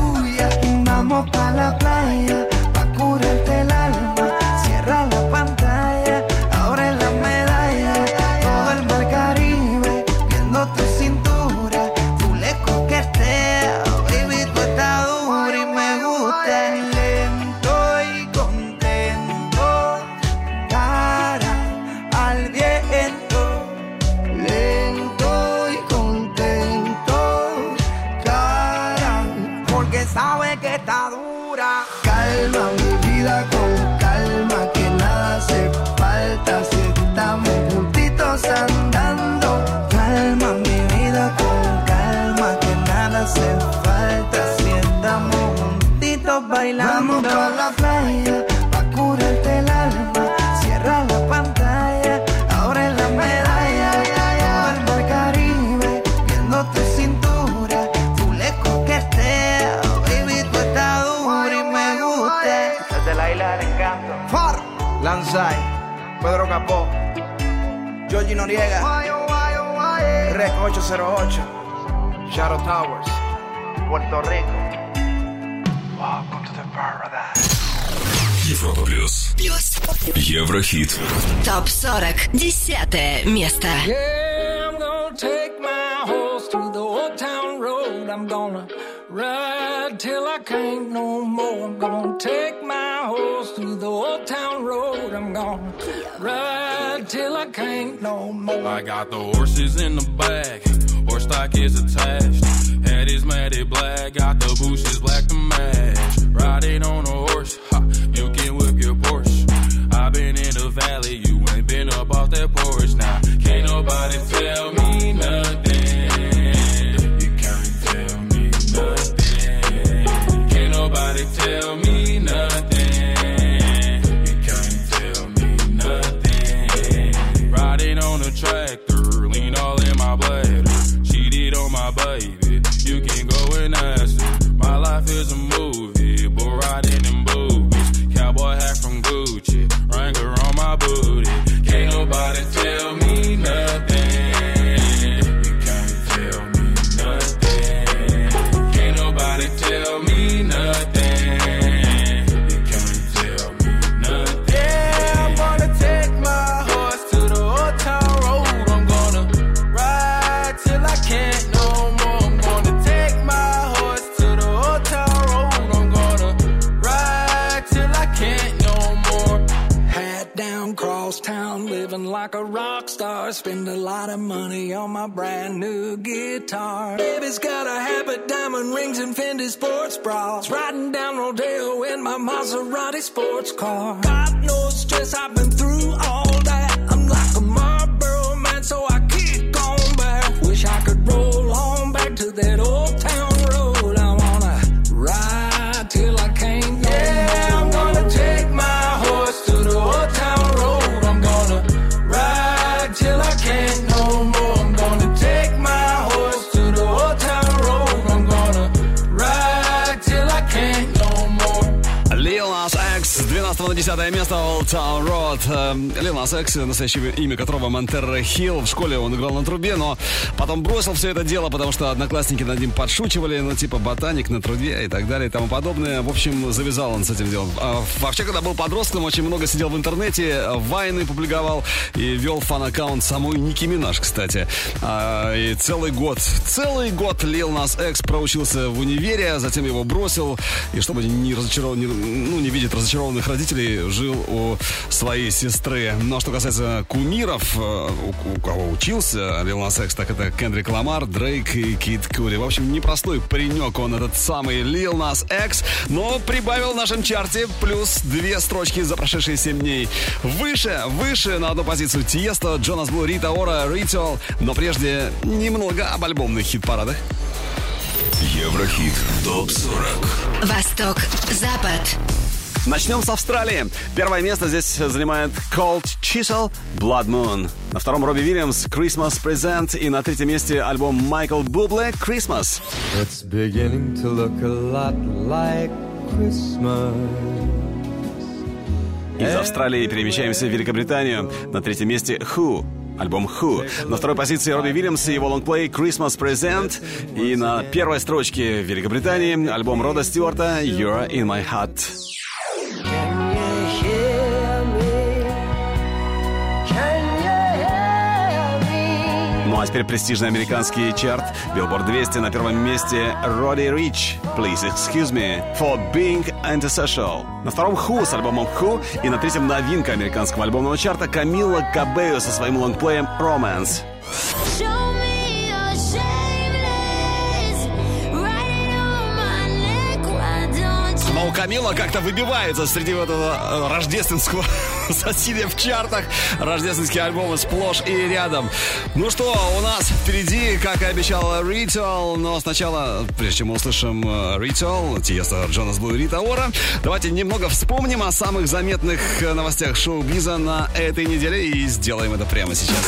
buscabulla. Vamos pa' la playa, pa' curarte el alma. Cierra la pantalla. baila. Calma mi vida con calma, que nada hace falta si estamos juntitos andando. Calma mi vida con calma, que nada hace falta si estamos juntitos bailando. Vamos pa' la playa, pa' curarte el alma. Cierra la pantalla, abre la medalla. Al mar Caribe, viendo tu cintura. Tú le coqueteas, baby, tú estás dura y me gusta. Desde la isla del encanto. Far, Lanzai, Pedro Capó, Georgie Noriega, Rec 808, Shadow Towers, Puerto Rico. Welcome to the paradise. Европа плюс. Еврохит. ТОП 40. 10 место. Yeah, I'm gonna take my horse through the old town road. I'm gonna ride till I can't no more. I'm gonna take my horse through the old town road. I'm gonna ride till I can't no more. I got the horses in the back, horse stock is attached. Head is matted black, got the bushes black to match. Riding on a horse, ha, you can whip your Porsche. I've been in the valley, you ain't been up off that porch. Now, can't nobody tell me nothing. You can't tell me nothing. Can't nobody tell me nothing. You can't tell me nothing. Riding on a tractor, lean all in my bladder. Cheated on my baby, you can go and ask her. My life is a movie, but riding in boobies. Cowboy hat from Gucci, Wrangler on my booty. Can't nobody tell me nothing. You can't tell me nothing. Can't nobody tell me nothing. You can't tell me nothing. Yeah, I'm gonna take my horse to the old town road. I'm gonna ride till I can't no more. I'm gonna take my horse to the old town road. I'm gonna ride till I can't no more. Hat down, cross town, living like a rock star. Spend a lot of money on my brand new guitar. Baby's got a habit, diamond rings and Fendi sports bras. Riding down Rodeo in my Maserati sports car. Got no stress, I've been through all that. I'm like a Marlboro man, so I kick on back. Wish I could roll on back to that old town road. I wanna ride till I can't no more. I'm gonna take my horse to the old town road. I'm gonna ride till I can't no more. I'm gonna take my horse to the old town road. I'm gonna ride till I can't no more. Lil Nas X, 12 на 10 место, Old Town Road. Lil Nas X, настоящее имя которого Монтеро Хилл. В школе он играл на трубе, но потом бросил все это дело, потому что одноклассники над ним подшучивали, ну типа ботаник на труде и так далее и тому подобное. В общем, завязал он с этим делом. Вообще, когда был подростком, очень много сидел в интернете, вайны публиковал и вел фан-аккаунт самой Ники Минаж, кстати. И целый год Lil Nas X проучился в универе, затем его бросил, и чтобы не видеть разочарованных родителей, жил у своей сестры. Но что касается кумиров, у кого учился Lil Nas X, так это Кендрик Ламар, Дрейк и Кид Куди. В общем, непростой паренек он, этот самый Lil Nas X, но прибавил в нашем чарте плюс 2 строчки за прошедшие 7 дней. Выше на одну позицию Тиесто, Джонас Блу, Рита Ора, Ritual. Но прежде немного об альбомных хит-парадах. Еврохит ТОП-40. Восток, Запад. Начнем с Австралии. Первое место здесь занимает Cold Chisel, Blood Moon. На втором Робби Уильямс, Christmas Present. И на третьем месте альбом Майкл Бубле, Christmas. It's beginning to look a lot like Christmas. Из Австралии перемещаемся в Великобританию. На третьем месте Who. Альбом Who. На второй позиции Робби Уильямс и его лонгплей Christmas Present. И на первой строчке в Великобритании альбом Рода Стюарта You're in My Heart. Ну а теперь престижный американский чарт Billboard 200. На первом месте Roddy Ricch Please Excuse Me for Being Antisocial. На втором Who с альбомом Who. И на третьем новинка американского альбомного чарта Камила Кабео со своим лонгплеем Romance. Камила как-то выбивается среди вот этого рождественского соседа в чартах. Рождественские альбомы сплошь и рядом. Ну что, у нас впереди, как и обещал, Ritual. Но сначала, прежде чем мы услышим Ritual, Тиеста, Джонас Блу и Рита Ора, давайте немного вспомним о самых заметных новостях шоу-биза на этой неделе и сделаем это прямо сейчас.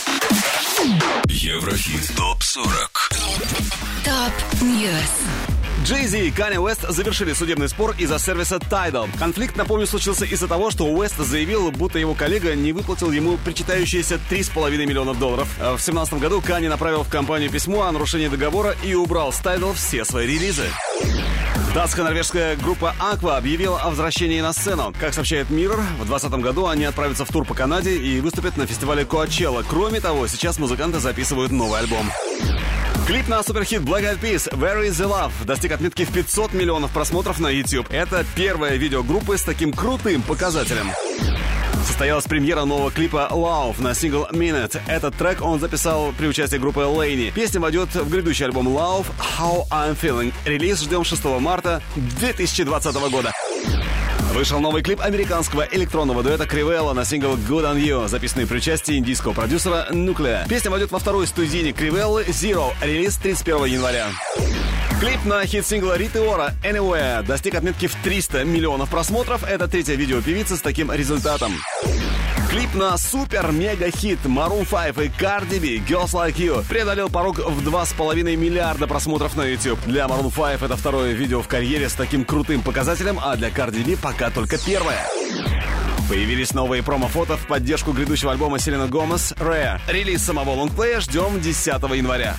Еврохит ТОП-40. ТОП-Ньюс. Jay-Z и Kanye West завершили судебный спор из-за сервиса Tidal. Конфликт, напомню, случился из-за того, что Уэст заявил, будто его коллега не выплатил ему причитающиеся $3,5 миллиона. В 2017 году Kanye направил в компанию письмо о нарушении договора и убрал с Tidal все свои релизы. Датско-норвежская группа Aqua объявила о возвращении на сцену. Как сообщает Mirror, в 2020 году они отправятся в тур по Канаде и выступят на фестивале Coachella. Кроме того, сейчас музыканты записывают новый альбом. Клип на суперхит Black Eyed Peas «Where is the Love» достиг отметки в 500 миллионов просмотров на YouTube. Это первое видео группы с таким крутым показателем. Состоялась премьера нового клипа Love на сингл Minute. Этот трек он записал при участии группы Laney. Песня войдет в грядущий альбом Love How I'm Feeling. Релиз ждем 6 марта 2020 года. Вышел новый клип американского электронного дуэта Кривелла на сингл Good on You, записанный при участии индийского продюсера Nuclear. Песня войдет во второй студийник Кривеллы Zero. Релиз 31 января. Клип на хит-сингла Риты Ора Anywhere достиг отметки в 300 миллионов просмотров. Это третье видео певицы с таким результатом. Клип на супер-мега-хит Maroon 5 и Cardi B Girls Like You преодолел порог в 2,5 миллиарда просмотров на YouTube. Для Maroon 5 это второе видео в карьере с таким крутым показателем, а для Cardi B пока только первое. Появились новые промо-фото в поддержку грядущего альбома Селена Гомес Rare. Релиз самого лонгплея ждем 10 января.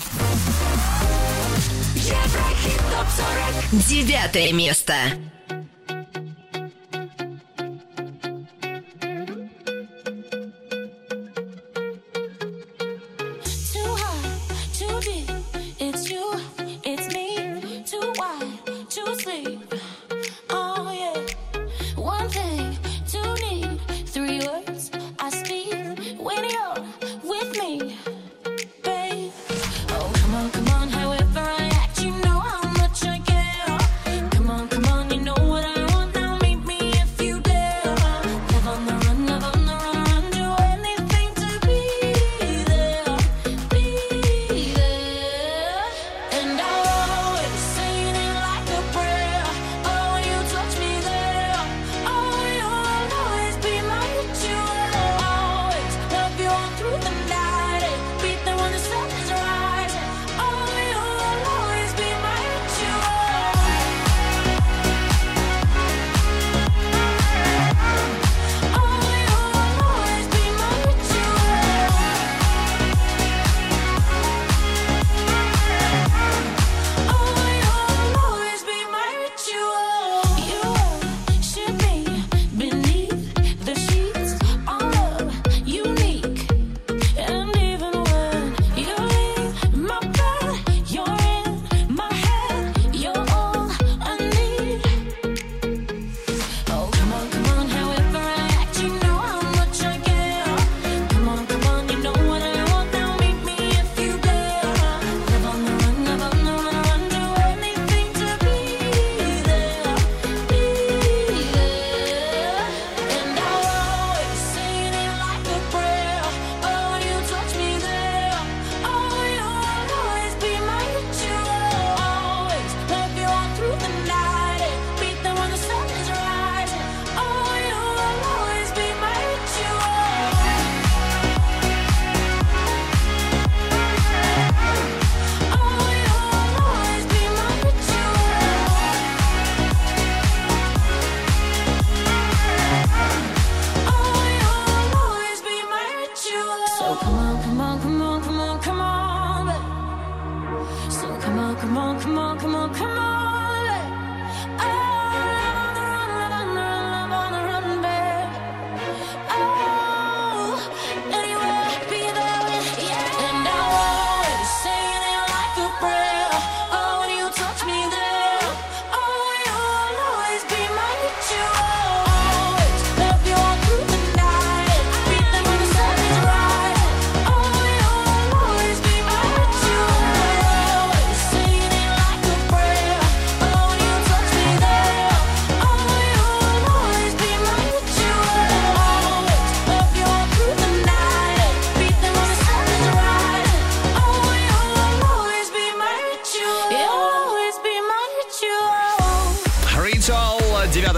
Еврохит ТОП-40. 9 место.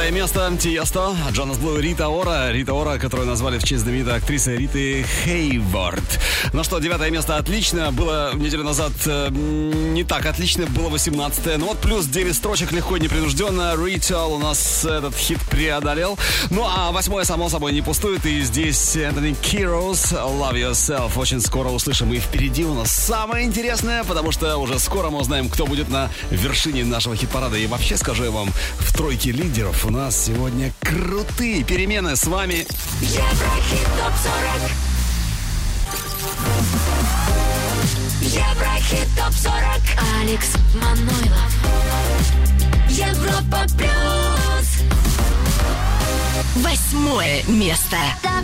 9 место. Тиесто, Джонас Блу, Рита Ора, которую назвали в честь знаменитой актрисы Риты Хейворд. Ну что, 9 место отлично. Было неделю назад не так отлично, было 18-е. Ну вот плюс 9 строчек, легко и непринужденно. Ritual у нас этот хит преодолел. Ну а 8-е, само собой, не пустует. И здесь Энтони Кирос, Love Yourself. Очень скоро услышим. И впереди у нас самое интересное, потому что уже скоро мы узнаем, кто будет на вершине нашего хит-парада. И вообще скажу я вам, в тройке лидеров у нас сегодня крутые перемены. С вами Еврохит ТОП-40. Еврохит ТОП-40. Алекс Манойлов. Европа плюс. 8 место.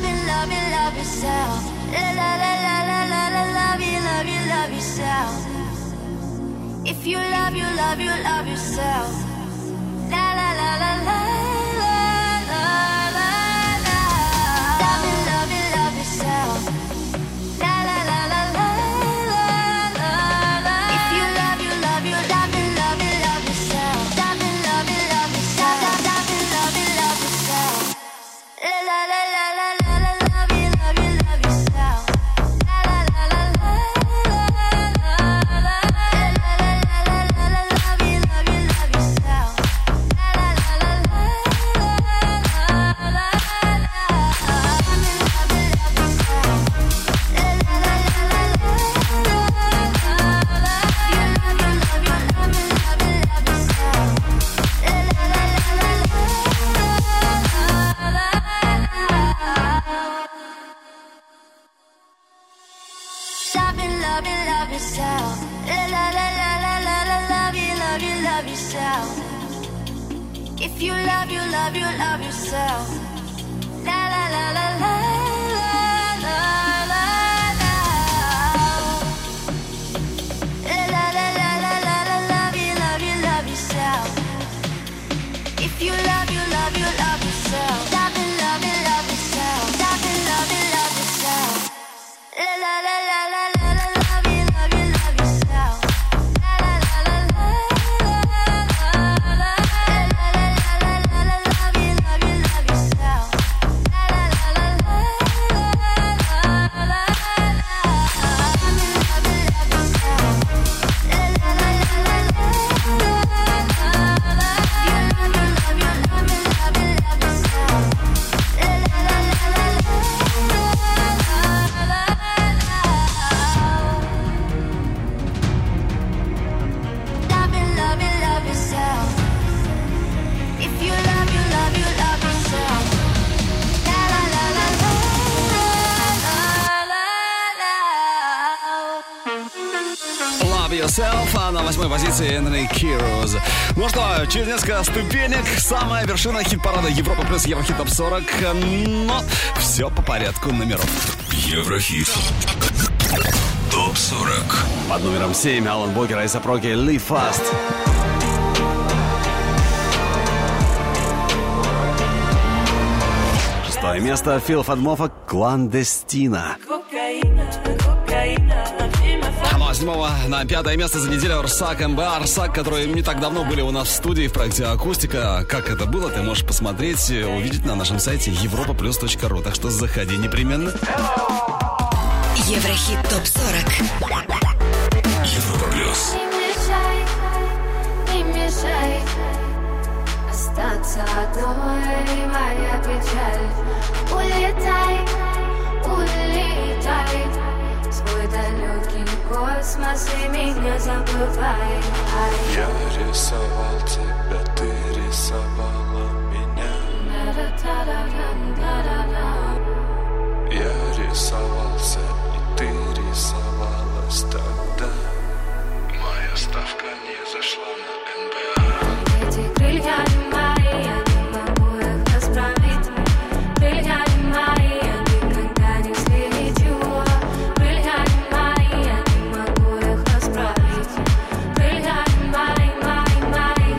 If you love, you love, you love yourself. La la la la la la la la la. Love you, love you, love yourself. La la la la la la la la. If you love, you love, you love, you love, you love yourself. Love you, love you, love yourself. Love you, love you, love yourself. La la la la la la la. Love you, love you, love yourself. La la la la la la la. Love yourself. La la la la la la la. Love you, love you, love yourself. If you love, you love, you love yourself. La la la la la la la la la. La la la la la la. Love you, love you, love yourself. If you love, you love, you love yourself. Love you, love you, love yourself. Love you, love you, love yourself. La la la la la la. А на 8 позиции Энтони Кирос. Ну что, через несколько ступенек самая вершина хит-парада Европа плюс Еврохит ТОП-40. Но все по порядку номеров. Еврохит ТОП-40. Под номером 7 Алан Бокер, Айса Проки, Live Fast. 6 место Фил Фадмофа, Кландестина. А 7 на 5 место за неделю Арсак МБ. Арсак, которые не так давно были у нас в студии в проекте «Акустика». Как это было, ты можешь посмотреть, увидеть на нашем сайте europaplus.ru. Так что заходи непременно. Еврохит ТОП-40. Европа плюс. Не мешай остаться одной, моя печаль. Улетай, улетай в свой далекий космос и меня забывай. Я рисовал тебя, ты рисовала меня. Я рисовался, и ты рисовалась тогда. Моя ставка не зашла на НБА. Эти крылья не мои, я не могу их расправить. Крылья не мои, я никогда не взлечу. Крылья не мои, я не могу их расправить. Крылья не мои, мои, мои.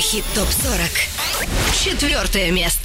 Еврохит ТОП-40. 4 место.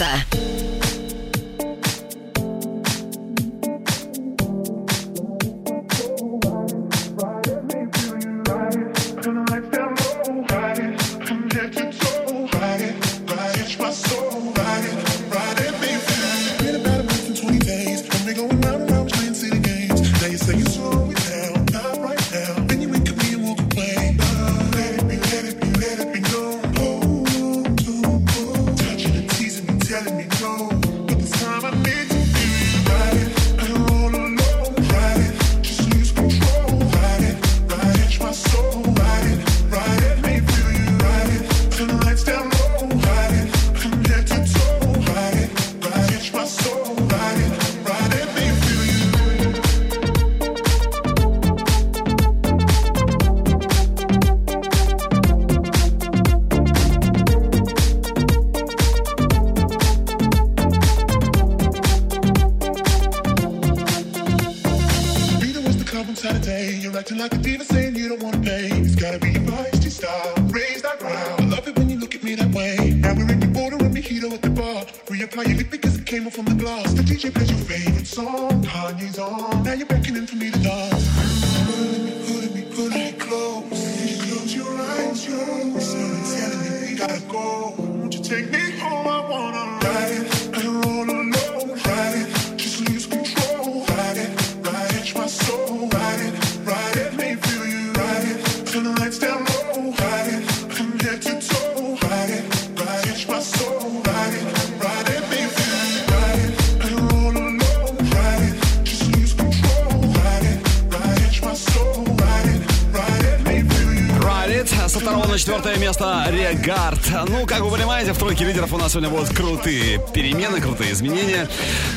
Со 2 на 4 место Регард. Ну, как вы понимаете, в тройке лидеров у нас сегодня будут крутые перемены, крутые изменения.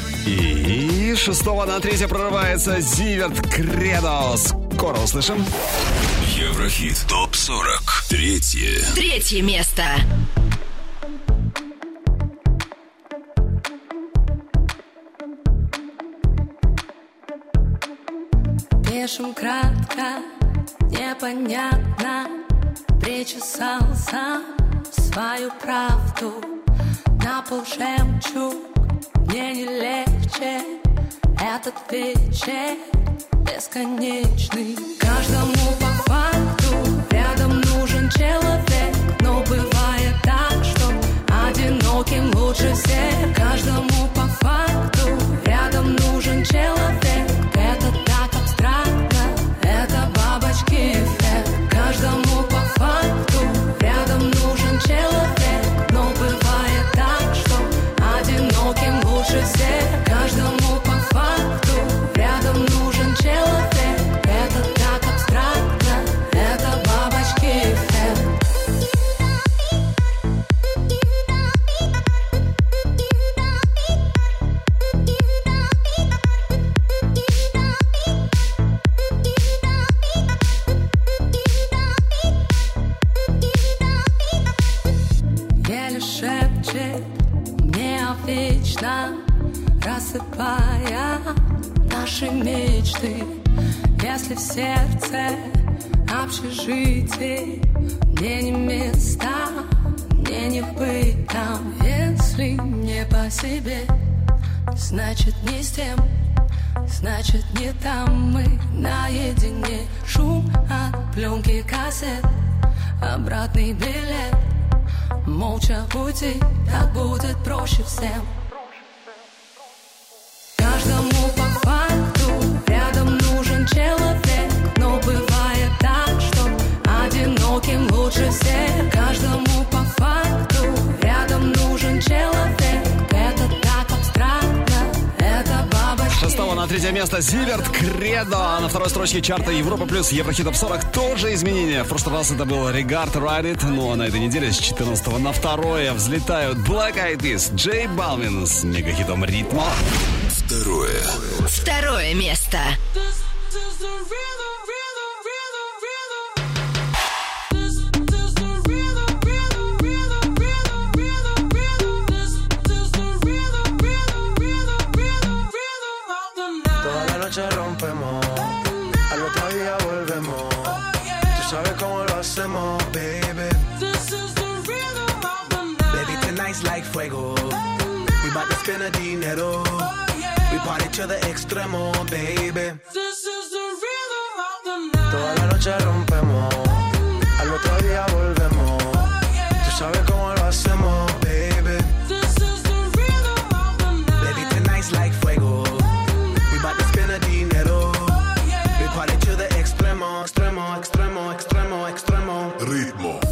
И 6 на 3 прорывается Зиверт Кредо. Скоро услышим. Еврохит ТОП-40. 3 место. Пишем кратко, непонятно. Причесал сам свою правду. На пол жемчуг, мне не легче. Этот вечер бесконечный. Каждому по факту рядом нужен человек. Но бывает так, что одиноким лучше всех. Каждому по факту рядом нужен человек. Это так абстрактно, это бабочки эффект. Каждому по факту рядом нужен человек. Но бывает так, что одиноким лучше всех. Каждому по факту рядом нужен человек. Это так абстрактно, это бабочки эффект. Вечно рассыпая наши мечты. Если в сердце общежитие, мне не места, мне не быть там. Если не по себе, значит не с тем, значит не там. Мы наедине, шум от пленки кассет, обратный билет. Молча уйти, так будет проще всем. Каждому по факту рядом нужен человек. Но бывает так, что одиноким лучше всех. Каждому по факту рядом нужен человек. Это так абстрактно, это бабочки. 6 на 3 место Зиверт Кредо. На второй строчке чарта Европа плюс Еврохит ТОП 40 тоже изменения. В прошлый раз это был Регард Ride It. Ну а на этой неделе с 14 на 2 взлетают Black Eyed Peas, Джей Балвин с мегахитом Ритмо. 2 место. Toda la noche rompemos, al otro día volvemos. Tú sabes cómo lo hacemos, baby. fuego. We bout to spend a dinero. We party to the extremo, baby. This is the rhythm of the night. Toda la noche rompemos, al otro día volvemos. Tú sabes cómo lo hacemos, baby. This is the rhythm of the night. Baby, tonight's like fuego. We bout to spend a dinero. We party to the extremo, extremo, extremo, extremo, extremo. Ritmo.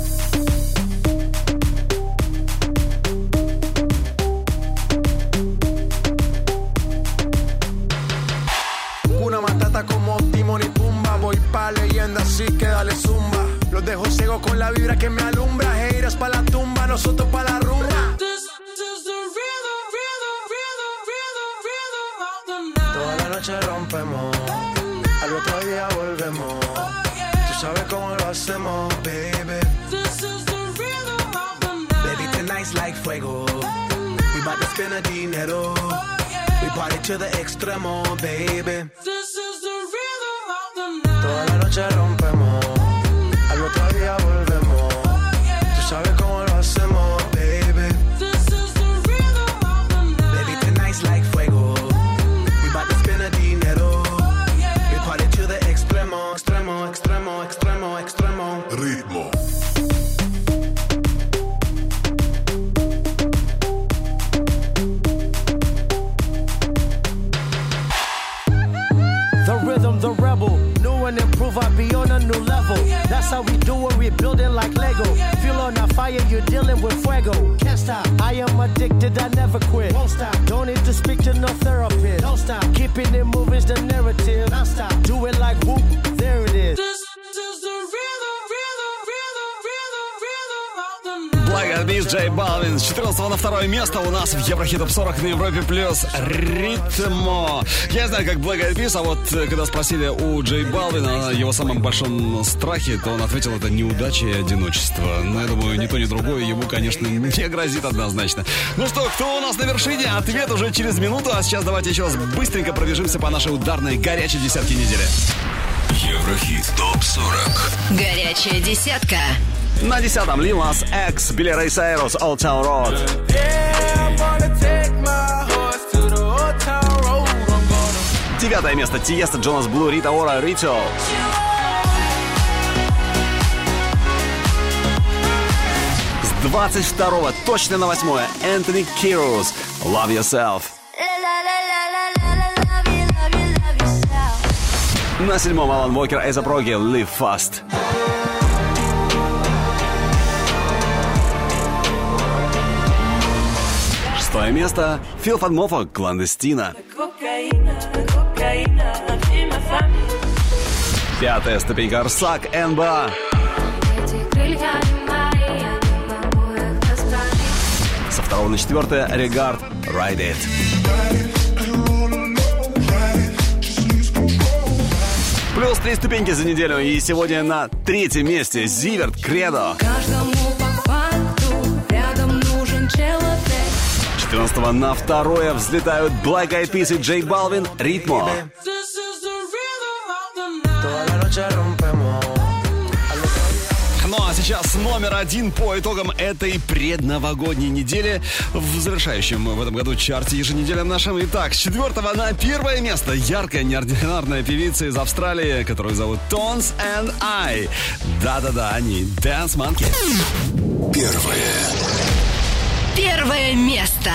Una matata como Timón y Pumba. Voy pa' leyenda, así que dale zumba. Los dejo ciego con la vibra que me alumbra. Haters pa' la tumba, nosotros pa' la rumba. This is the rhythm, rhythm, rhythm, rhythm, rhythm of the night. Toda la noche rompemos, al otro día volvemos. Tú sabes cómo lo hacemos, baby. This is the rhythm of the night. Baby, tonight's like fuego. We bout to spend a dinero. We party to the extremo, baby. This is the rhythm of the night. Toda la noche rompemos, al otro día volvemos. Tú sabes cómo lo hacemos, baby. This is the rhythm of the night. Baby, tonight's like fuego. We bout to spend a dinero. We party to the extremo, extremo, extremo, extremo, extremo. Ritmo. The rhythm, the rebel. New and improve, I be on a new level. That's how we do it, we building like Lego. Feel on a fire, you're dealing with fuego. Can't stop, I am addicted, I never quit. Won't stop, don't need to speak to no therapist. Don't stop, keeping it moving's the narrative. Don't stop, do it like whoop, there it is. This is the rhythm, rhythm, rhythm, rhythm, rhythm of the night. Black Eyed Peas, Джей Балвин. С 14 на 2 место у нас в Еврохит Топ 40 на Европе плюс Ритмо. Я не знаю, как Black Eyed Peas, а вот когда спросили у Джей Балвина о его самом большом страхе, то он ответил, это неудача и одиночество. Но я думаю, ни то, ни другое ему, конечно, не грозит однозначно. Ну что, кто у нас на вершине? Ответ уже через минуту. А сейчас давайте еще раз быстренько пробежимся по нашей ударной горячей десятке недели. Еврохит Топ 40. Горячая десятка. На 10-м Lil Nas X, Billy Ray Cyrus, Old Town Road. Девятое место Тиеста, Джонас Блу, Рита Ора, Ritual. С 22-го точно на 8-е Энтони Кирус, Love Yourself. На 7-м Алан Уокер, A$AP Rocky, Live Fast. Шестое место Фил Фанмофо, Кландестина. Пятая ступенька Арсак, НБА. Со 2 на 4 Регард, Ride It. Плюс 3 ступеньки за неделю. И сегодня на 3-м месте Зиверт, Кредо. Каждому по факту рядом нужен человек. 14 на 2 взлетают Black Eyed Peas и Джей Балвин, Ритмо. Ну а сейчас номер 1 по итогам этой предновогодней недели в завершающем в этом году чарте еженедельном нашем. Итак, с 4 на 1 место яркая, неординарная певица из Австралии, которую зовут Tones and I. Да-да-да, они Dance Monkey. Первое место.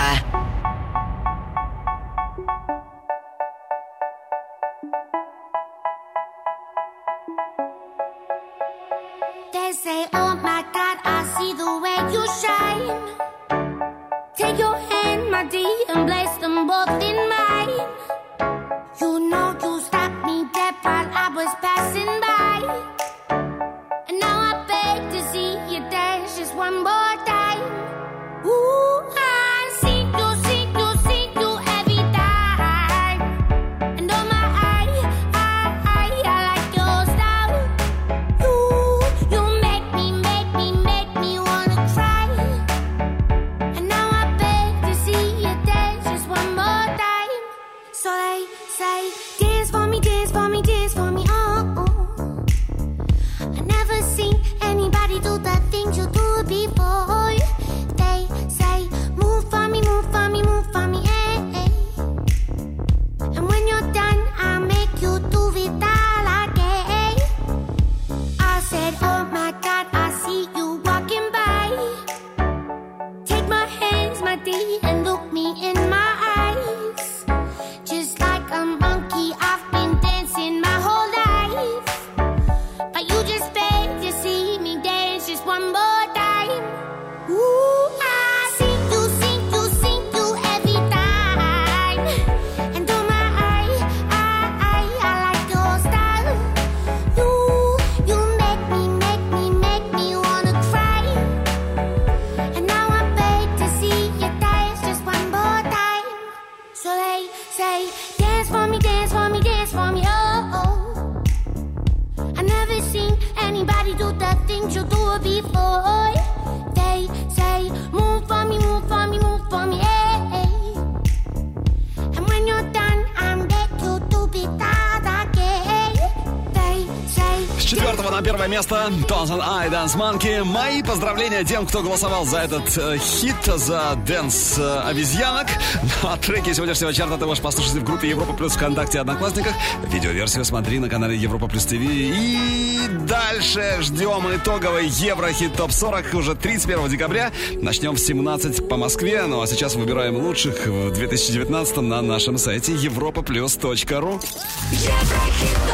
They say, oh my God, I see the way you shine. Take your hand, my dear, and place them both in mine. You know you stopped me dead while I was passing by. And now I beg to see you dance just one more time. Ooh, I see you every time. And oh my, I like your style. You make me wanna cry. And now I beg to see you dance just one more time. So they say, dance for me, dance for me, dance for me, oh. I never seen anybody do the things you do before. They say, move say, dance for me, dance for me, dance for me, oh, oh. I never seen anybody do the things you do before. They say, move for me, move for me, move for me, hey. And when you're done, I'm back you to be that again. They say. С 4 на 1 место Thousand Eye Dance Monkey. Мои поздравления тем, кто голосовал за этот хит, за дэнс обезьянок. А треки сегодняшнего чарта ты можешь послушать в группе Европа Плюс ВКонтакте и Одноклассниках. Видеоверсию смотри на канале Европа Плюс ТВ. И дальше ждем итоговый Еврохит ТОП 40 уже 31 декабря. Начнем в 17 по Москве. Ну а сейчас выбираем лучших в 2019 на нашем сайте europaplus.ru. Еврохит